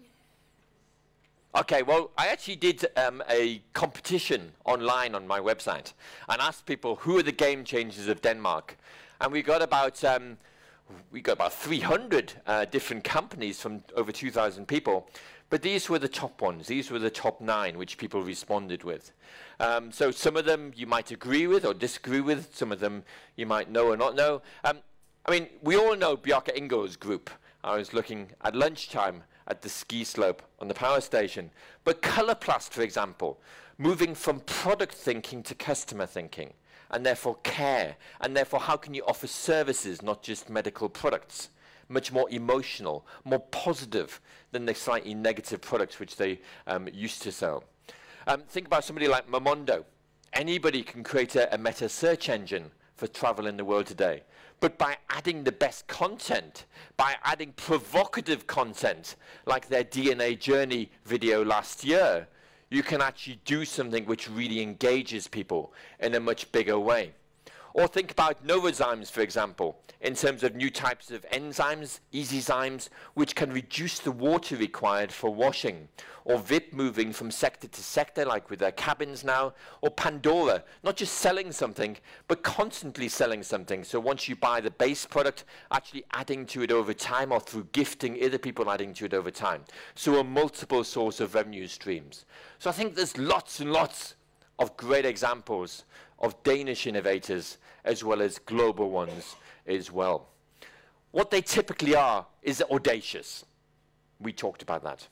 Okay, well, I actually did um, a competition online on my website and asked people who are the game changers of Denmark, and we got about um, we got about three hundred uh, different companies from over two thousand people. But these were the top ones. These were the top nine which people responded with. Um, so some of them you might agree with or disagree with. Some of them you might know or not know. Um, I mean, we all know Bjarke Ingels Group. I was looking at lunchtime at the ski slope on the power station. But Colourplast, for example, moving from product thinking to customer thinking, and therefore care, and therefore how can you offer services, not just medical products, much more emotional, more positive than the slightly negative products which they um, used to sell. Um, think about somebody like Momondo. Anybody can create a, a meta search engine for travel in the world today. But by adding the best content, by adding provocative content, like their D N A journey video last year, you can actually do something which really engages people in a much bigger way. Or think about Novozymes, for example, in terms of new types of enzymes, easyzymes, which can reduce the water required for washing. Or V I P moving from sector to sector, like with their cabins now. Or Pandora, not just selling something, but constantly selling something. So once you buy the base product, actually adding to it over time, or through gifting other people adding to it over time. So a multiple source of revenue streams. So I think there's lots and lots of great examples of Danish innovators as well as global ones as well. What they typically are is audacious. We talked about that.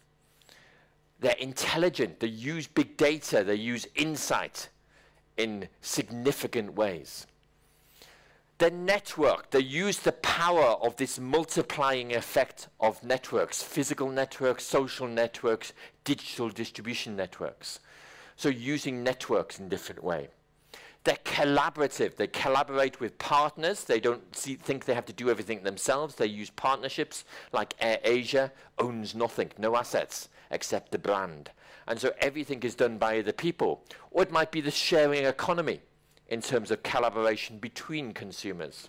They're intelligent. They use big data. They use insight in significant ways. They're networked. They use the power of this multiplying effect of networks, physical networks, social networks, digital distribution networks. So using networks in a different way. They're collaborative. They collaborate with partners. They don't see, think they have to do everything themselves. They use partnerships, like AirAsia owns nothing, no assets, except the brand. And so everything is done by the people. Or it might be the sharing economy in terms of collaboration between consumers.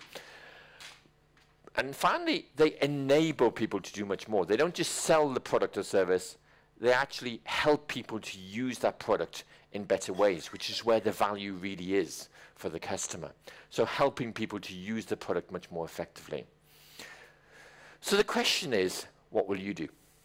And finally, they enable people to do much more. They don't just sell the product or service. They actually help people to use that product in better ways, which is where the value really is for the customer. So helping people to use the product much more effectively. So the question is, what will you do?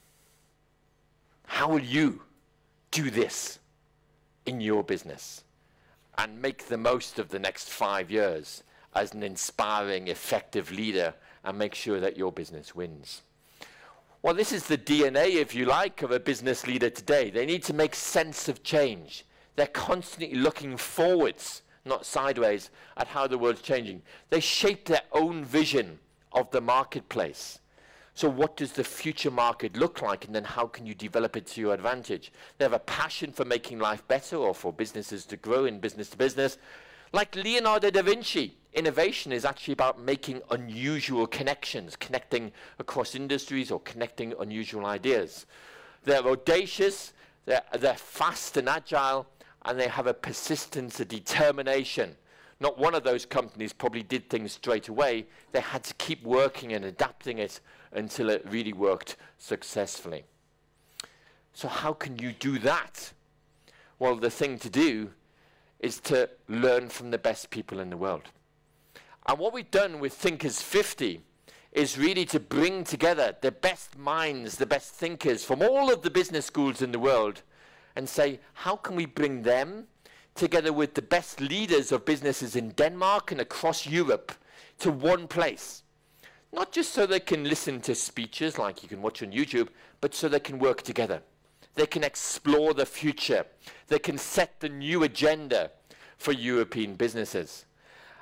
How will you do this in your business and make the most of the next five years as an inspiring, effective leader and make sure that your business wins? Well, this is the D N A, if you like, of a business leader today. They need to make sense of change. They're constantly looking forwards, not sideways, at how the world's changing. They shape their own vision of the marketplace. So what does the future market look like, and then how can you develop it to your advantage? They have a passion for making life better or for businesses to grow in business to business. Like Leonardo da Vinci, innovation is actually about making unusual connections, connecting across industries or connecting unusual ideas. They're audacious, they're, they're fast and agile, and they have a persistence, a determination. Not one of those companies probably did things straight away. They had to keep working and adapting it until it really worked successfully. So how can you do that? Well, the thing to do is to learn from the best people in the world. And what we've done with Thinkers fifty is really to bring together the best minds, the best thinkers from all of the business schools in the world and say, how can we bring them together with the best leaders of businesses in Denmark and across Europe to one place? Not just so they can listen to speeches like you can watch on YouTube, but so they can work together. They can explore the future. They can set the new agenda for European businesses.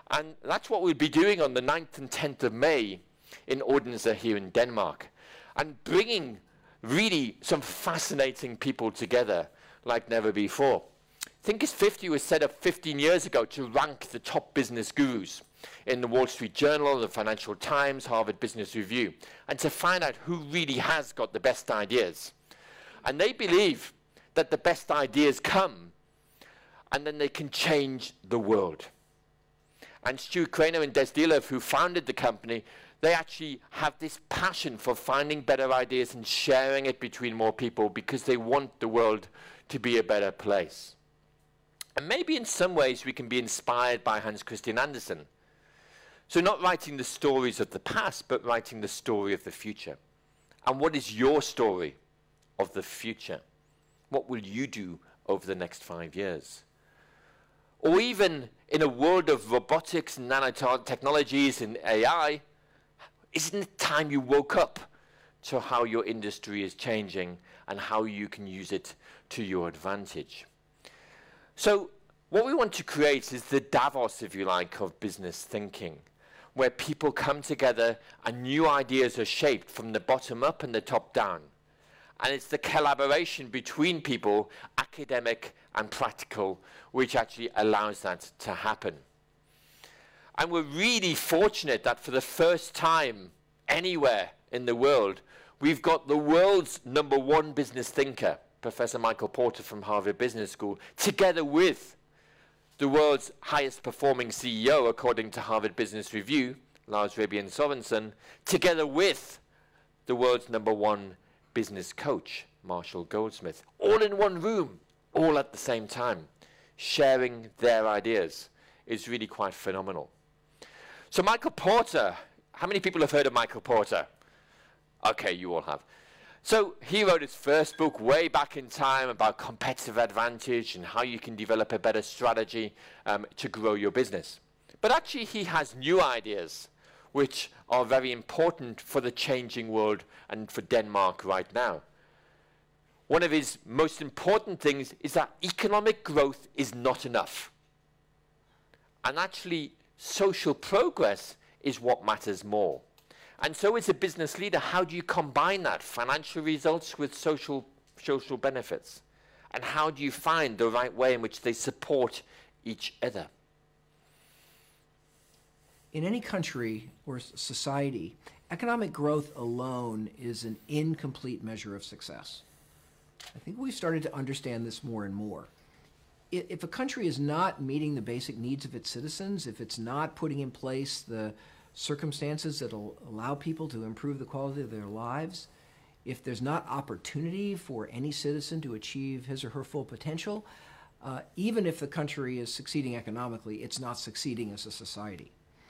And that's what we'll be doing on the ninth and tenth of May in Odense here in Denmark, and bringing really some fascinating people together like never before. Thinkers fifty was set up fifteen years ago to rank the top business gurus in the Wall Street Journal, the Financial Times, Harvard Business Review, and to find out who really has got the best ideas. And they believe that the best ideas come, and then they can change the world. And Stu Craner and Des Dealev, who founded the company, they actually have this passion for finding better ideas and sharing it between more people because they want the world to be a better place. And maybe in some ways we can be inspired by Hans Christian Andersen. So not writing the stories of the past, but writing the story of the future. And what is your story of the future? What will you do over the next five years? Or even in a world of robotics and nanotechnologies and A I, isn't it time you woke up to how your industry is changing and how you can use it to your advantage? So what we want to create is the Davos, if you like, of business thinking, where people come together and new ideas are shaped from the bottom up and the top down. And it's the collaboration between people, academic and practical, which actually allows that to happen. And we're really fortunate that for the first time anywhere in the world, we've got the world's number one business thinker, Professor Michael Porter from Harvard Business School, together with the world's highest performing C E O, according to Harvard Business Review, Lars Rebien Sørensen, together with the world's number one business coach, Marshall Goldsmith, all in one room, all at the same time, sharing their ideas is really quite phenomenal. So Michael Porter, how many people have heard of Michael Porter? Okay, you all have. So he wrote his first book way back in time about competitive advantage and how you can develop a better strategy um, to grow your business. But actually he has new ideas which are very important for the changing world and for Denmark right now. One of his most important things is that economic growth is not enough. And actually, social progress is what matters more. And so as a business leader, how do you combine that, financial results with social, social benefits? And how do you find the right way in which they support each other? In any country or society, economic growth alone is an incomplete measure of success. I think we've started to understand this more and more. If a country is not meeting the basic needs of its citizens, if it's not putting in place the circumstances that will allow people to improve the quality of their lives, if there's not opportunity for any citizen to achieve his or her full potential, uh, even if the country is succeeding economically, it's not succeeding as a society.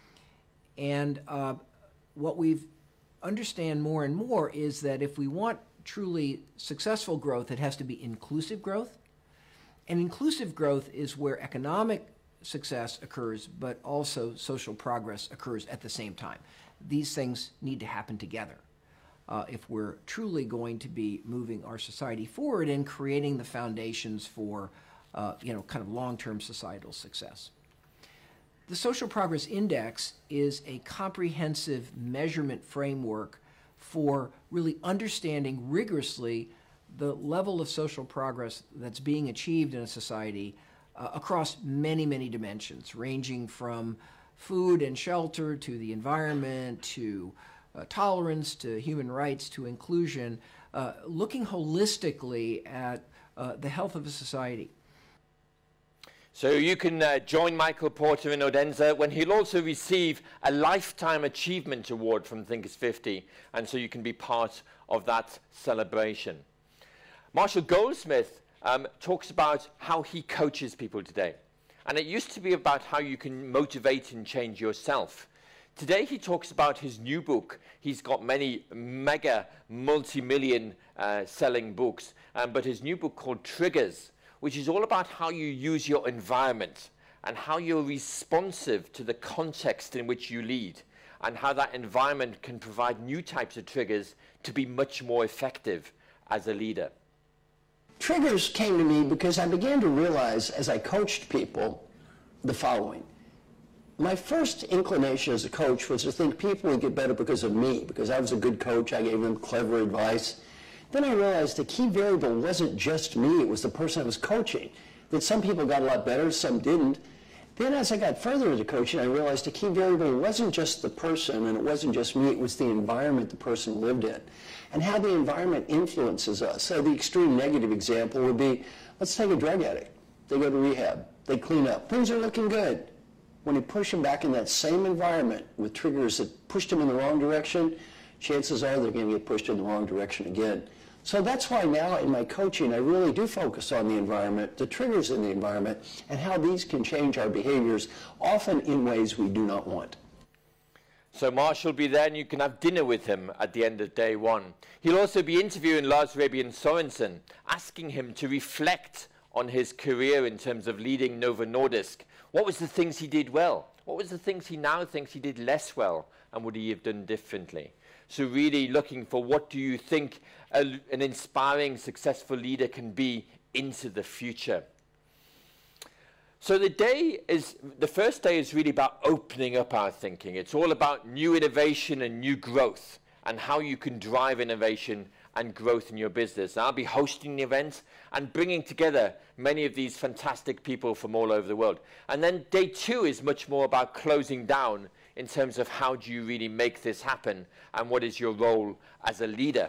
And uh, what we've understand more and more is that if we want truly successful growth, it has to be inclusive growth. And inclusive growth is where economic success occurs, but also social progress occurs at the same time. These things need to happen together uh, if we're truly going to be moving our society forward and creating the foundations for uh, you know, kind of long-term societal success. The Social Progress Index is a comprehensive measurement framework for really understanding rigorously the level of social progress that's being achieved in a society uh, across many, many dimensions, ranging from food and shelter to the environment to uh, tolerance to human rights to inclusion, uh, looking holistically at uh, the health of a society. So you can uh, join Michael Porter in Odense when he'll also receive a Lifetime Achievement Award from Thinkers fifty, and so you can be part of that celebration. Marshall Goldsmith um, talks about how he coaches people today. And it used to be about how you can motivate and change yourself. Today he talks about his new book. He's got many mega multi-million uh, selling books, um, but his new book called Triggers, which is all about how you use your environment and how you're responsive to the context in which you lead and how that environment can provide new types of triggers to be much more effective as a leader. Triggers came to me because I began to realize as I coached people the following. my first inclination as a coach was to think people would get better because of me, because I was a good coach. I gave them clever advice. Then I realized the key variable wasn't just me, it was the person I was coaching. That some people got a lot better, some didn't. Then as I got further into coaching, I realized the key variable wasn't just the person and it wasn't just me, it was the environment the person lived in and how the environment influences us. So the extreme negative example would be, let's take a drug addict. They go to rehab, they clean up, things are looking good. When you push them back in that same environment with triggers that pushed them in the wrong direction, chances are they're going to get pushed in the wrong direction again. So that's why now in my coaching, I really do focus on the environment, the triggers in the environment, and how these can change our behaviors, often in ways we do not want. So Marshall will be there and you can have dinner with him at the end of day one. He'll also be interviewing Lars Rebien Sørensen, asking him to reflect on his career in terms of leading Novo Nordisk. What was the things he did well? What was the things he now thinks he did less well? And would he have done differently? So really looking for what do you think a, an inspiring, successful leader can be into the future. So the day is, the first day is really about opening up our thinking. It's all about new innovation and new growth and how you can drive innovation and growth in your business. And I'll be hosting the event and bringing together many of these fantastic people from all over the world. And then day two is much more about closing down in terms of how do you really make this happen and what is your role as a leader.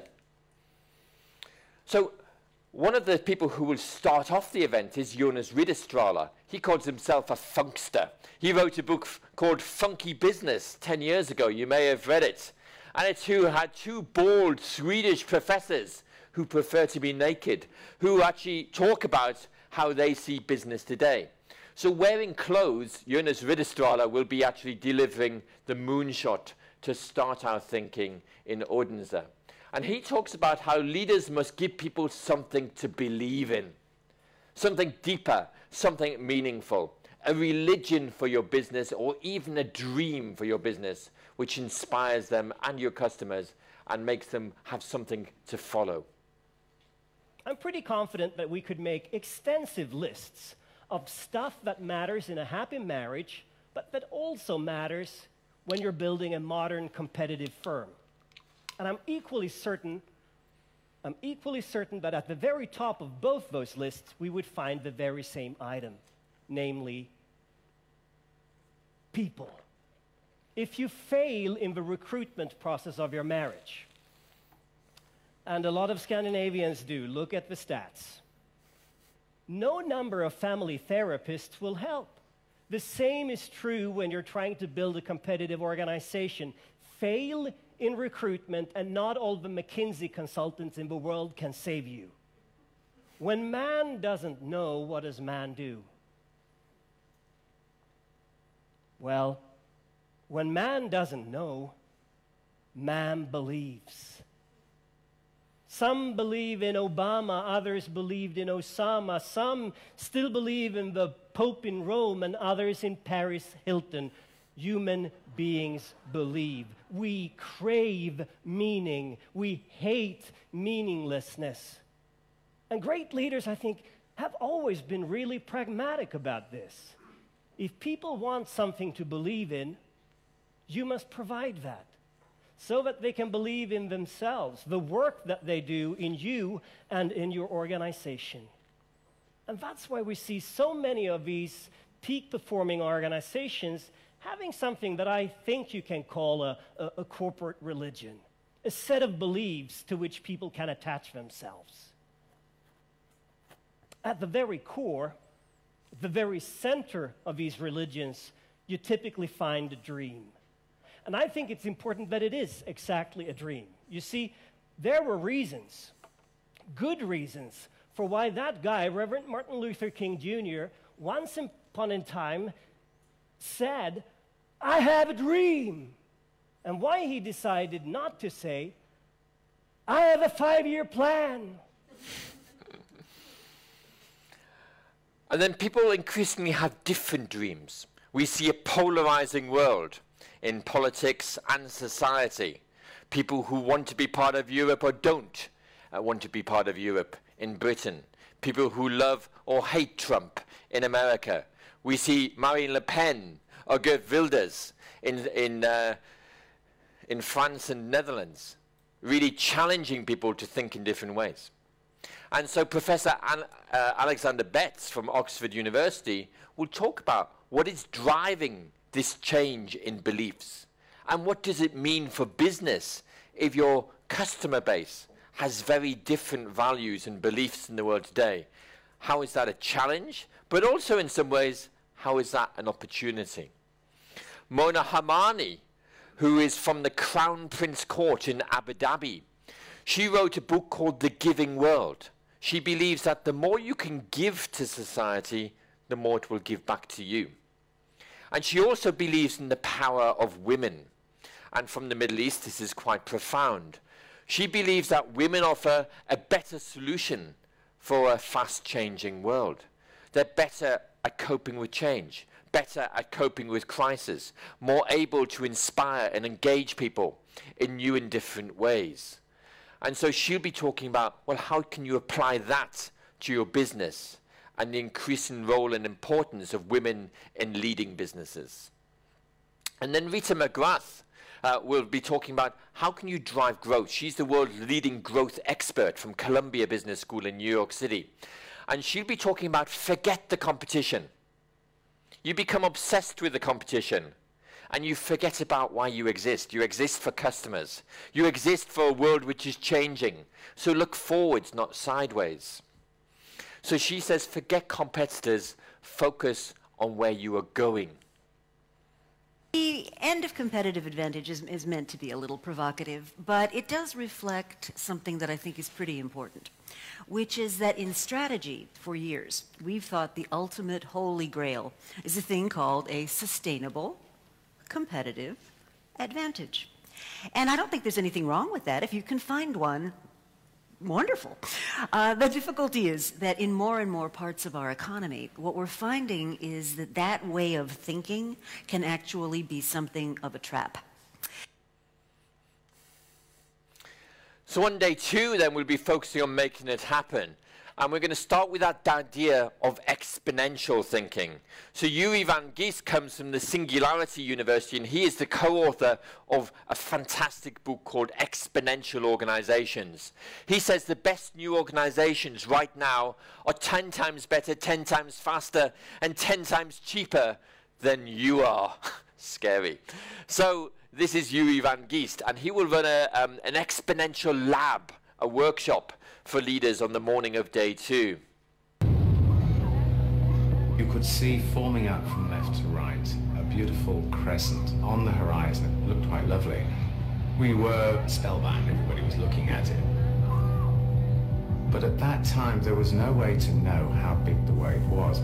So one of the people who will start off the event is Jonas Ridderstråle. He calls himself a funkster. He wrote a book called Funky Business ten years ago. You may have read it. And it's who had two bald Swedish professors who prefer to be naked, who actually talk about how they see business today. So wearing clothes, Jonas Ridderstråle will be actually delivering the moonshot to start our thinking in Odense. And he talks about how leaders must give people something to believe in, something deeper, something meaningful, a religion for your business or even a dream for your business, which inspires them and your customers and makes them have something to follow. I'm pretty confident that we could make extensive lists of stuff that matters in a happy marriage, but that also matters when you're building a modern competitive firm. And I'm equally certain, I'm equally certain that at the very top of both those lists, we would find the very same item, namely people. If you fail in the recruitment process of your marriage, and a lot of Scandinavians do, look at the stats, no number of family therapists will help. The same is true when you're trying to build a competitive organization. Fail in recruitment, and not all the McKinsey consultants in the world can save you. When man doesn't know, what does man do? Well, when man doesn't know, man believes. Some believe in Obama, others believed in Osama, some still believe in the Pope in Rome, and others in Paris Hilton. Human beings believe. We crave meaning. We hate meaninglessness. And great leaders, I think, have always been really pragmatic about this. If people want something to believe in, you must provide that so that they can believe in themselves, the work that they do in you and in your organization. And that's why we see so many of these peak-performing organizations having something that I think you can call a, a, a corporate religion, a set of beliefs to which people can attach themselves. At the very core, the very center of these religions, you typically find a dream. And I think it's important that it is exactly a dream. You see, there were reasons, good reasons, for why that guy, Reverend Martin Luther King Junior, once upon a time said, "I have a dream." And why he decided not to say, "I have a five-year plan." And then people increasingly have different dreams. We see a polarizing world in politics and society. People who want to be part of Europe or don't uh, want to be part of Europe in Britain. People who love or hate Trump in America. We see Marine Le Pen or Geert Wilders in, in, uh, in France and Netherlands, really challenging people to think in different ways. And so Professor An uh, Alexander Betts from Oxford University will talk about what is driving this change in beliefs, and what does it mean for business if your customer base has very different values and beliefs in the world today. How is that a challenge? But also in some ways, how is that an opportunity? Mona Hamani, who is from the Crown Prince Court in Abu Dhabi, she wrote a book called The Giving World. She believes that the more you can give to society, the more it will give back to you. And she also believes in the power of women. And from the Middle East, this is quite profound. She believes that women offer a better solution for a fast-changing world. They're better at coping with change, better at coping with crisis, more able to inspire and engage people in new and different ways. And so she'll be talking about, well, how can you apply that to your business and the increasing role and importance of women in leading businesses. And then Rita McGrath uh, will be talking about how can you drive growth. She's the world's leading growth expert from Columbia Business School in New York City. And she'll be talking about forget the competition. You become obsessed with the competition and you forget about why you exist. You exist for customers. You exist for a world which is changing. So look forwards, not sideways. So she says, forget competitors, focus on where you are going. The end of competitive advantage is, is meant to be a little provocative, but it does reflect something that I think is pretty important, which is that in strategy, for years, we've thought the ultimate holy grail is a thing called a sustainable, competitive advantage. And I don't think there's anything wrong with that. If you can find one, wonderful. Uh, the difficulty is that in more and more parts of our economy, what we're finding is that that way of thinking can actually be something of a trap. So on day two, then, we'll be focusing on making it happen. And we're going to start with that idea of exponential thinking. So Yuri Van Giest comes from the Singularity University, and he is the co-author of a fantastic book called Exponential Organizations. He says the best new organizations right now are ten times better, ten times faster, and ten times cheaper than you are. Scary. So this is Yuri Van Giest, and he will run a, um, an exponential lab, a workshop for leaders on the morning of day two. You could see forming up from left to right a beautiful crescent on the horizon. It looked quite lovely. We were spellbound, everybody was looking at it. But at that time there was no way to know how big the wave was.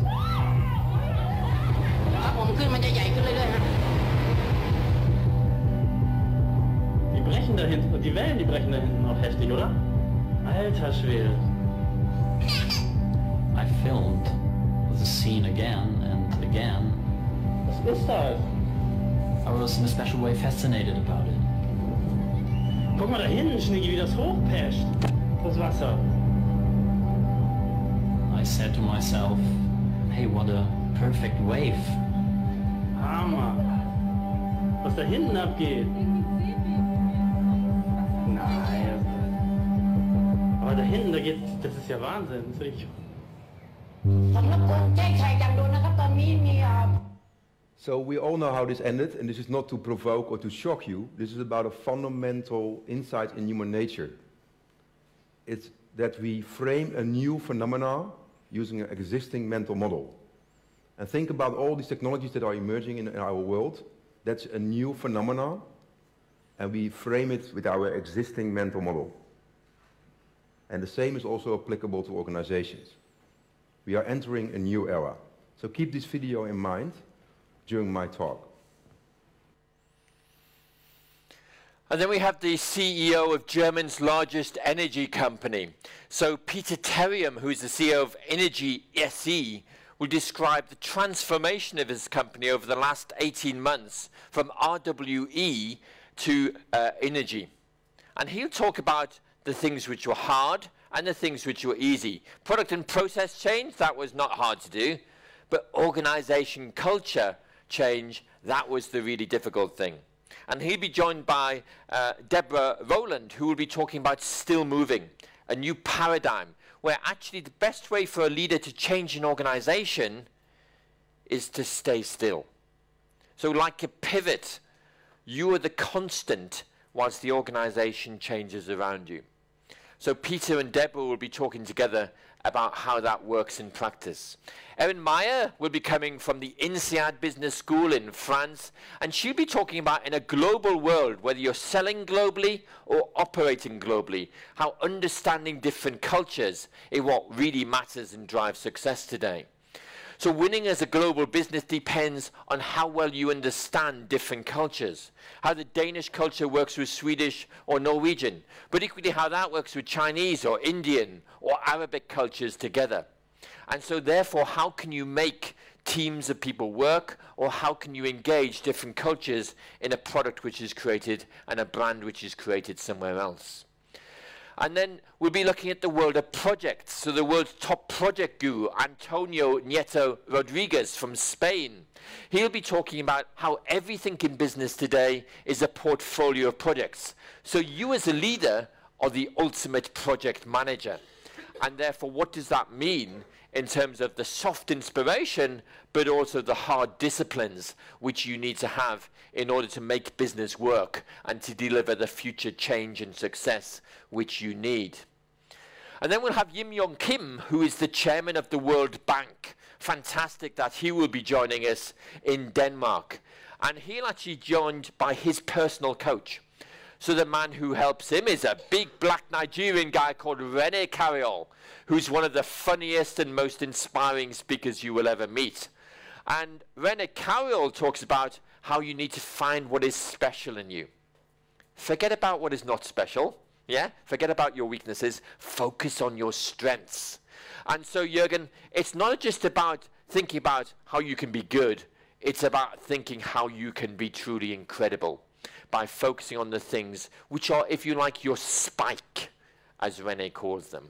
Die brechen da hinten, und die Wellen, die brechen da hinten auch heftig, oder? Alter Schwede. I filmed the scene again and again. Was ist das? I was in a special way fascinated about it. Guck mal da hinten, Schnicki, wie das hochpascht. Das Wasser. I said to myself, hey, what a perfect wave. Hammer. Was da hinten abgeht. Nein. Aber da hinten, da geht, das ist ja Wahnsinn. Das ist So we all know how this ended, and this is not to provoke or to shock you. This is about a fundamental insight in human nature. It's that we frame a new phenomena using an existing mental model. And think about all these technologies that are emerging in, in our world. That's a new phenomena, and we frame it with our existing mental model. And the same is also applicable to organizations. We are entering a new era. So keep this video in mind during my talk. And then we have the C E O of Germany's largest energy company. So Peter Terium, who is the C E O of Energy S E, will describe the transformation of his company over the last eighteen months from R W E to uh, energy. And he'll talk about the things which were hard and the things which were easy. Product and process change, that was not hard to do. But organization culture change, that was the really difficult thing. And he'll be joined by uh, Deborah Rowland, who will be talking about still moving, a new paradigm, where actually the best way for a leader to change an organization is to stay still. So like a pivot, you are the constant whilst the organization changes around you. So Peter and Deborah will be talking together about how that works in practice. Erin Meyer will be coming from the INSEAD Business School in France, and she'll be talking about in a global world, whether you're selling globally or operating globally, how understanding different cultures is what really matters and drives success today. So winning as a global business depends on how well you understand different cultures, how the Danish culture works with Swedish or Norwegian, but equally how that works with Chinese or Indian or Arabic cultures together. And so therefore, how can you make teams of people work, or how can you engage different cultures in a product which is created and a brand which is created somewhere else? And then we'll be looking at the world of projects. So the world's top project guru, Antonio Nieto Rodriguez from Spain. He'll be talking about how everything in business today is a portfolio of projects. So you as a leader are the ultimate project manager. And therefore, what does that mean in terms of the soft inspiration, but also the hard disciplines which you need to have in order to make business work and to deliver the future change and success which you need. And then we'll have Yim Yong Kim, who is the chairman of the World Bank. Fantastic that he will be joining us in Denmark. And he'll actually be joined by his personal coach. So the man who helps him is a big black Nigerian guy called Rene Carriol, who's one of the funniest and most inspiring speakers you will ever meet. And Rene Carriol talks about how you need to find what is special in you. Forget about what is not special, yeah? Forget about your weaknesses. Focus on your strengths. And so, Jürgen, it's not just about thinking about how you can be good. It's about thinking how you can be truly incredible, by focusing on the things which are, if you like, your spike, as Rene calls them.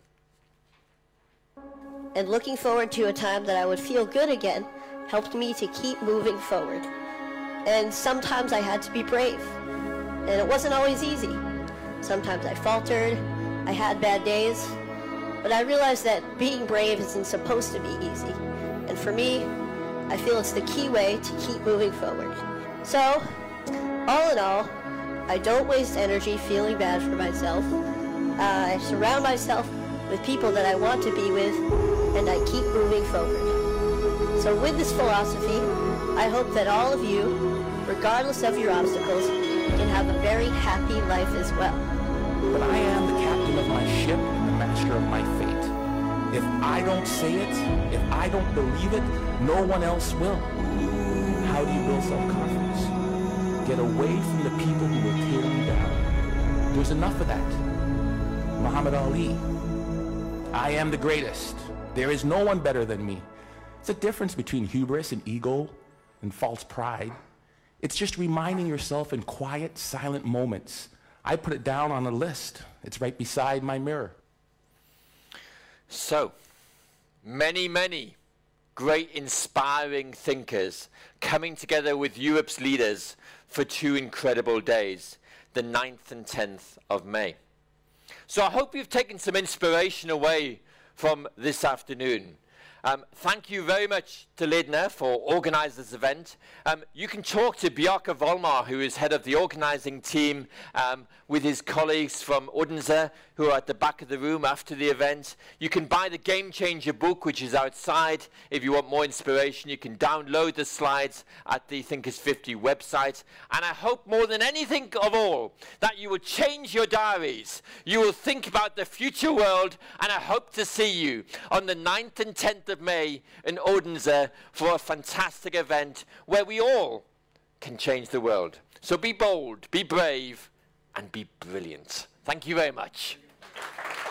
And looking forward to a time that I would feel good again helped me to keep moving forward. And sometimes I had to be brave. And it wasn't always easy. Sometimes I faltered, I had bad days, but I realized that being brave isn't supposed to be easy. And for me, I feel it's the key way to keep moving forward. So, all in all, I don't waste energy feeling bad for myself. Uh, I surround myself with people that I want to be with, and I keep moving forward. So with this philosophy, I hope that all of you, regardless of your obstacles, can have a very happy life as well. But I am the captain of my ship and the master of my fate. If I don't say it, if I don't believe it, no one else will. How do you build self-confidence? Get away from the people who will tear you down. There's enough of that. Muhammad Ali. I am the greatest. There is no one better than me. It's a difference between hubris and ego and false pride. It's just reminding yourself in quiet, silent moments. I put it down on a list. It's right beside my mirror. So, many, many great inspiring thinkers coming together with Europe's leaders for two incredible days, the ninth and tenth of May. So I hope you've taken some inspiration away from this afternoon. Um, thank you very much to Ledner for organising this event. Um, you can talk to Bjarke Volmar, who is head of the organising team, um, with his colleagues from Odense, who are at the back of the room after the event. You can buy the Game Changer book, which is outside. If you want more inspiration, you can download the slides at the Thinkers fifty website. And I hope more than anything of all, that you will change your diaries. You will think about the future world, and I hope to see you on the ninth and tenth of May in Odense for a fantastic event where we all can change the world. So be bold, be brave, and be brilliant. Thank you very much.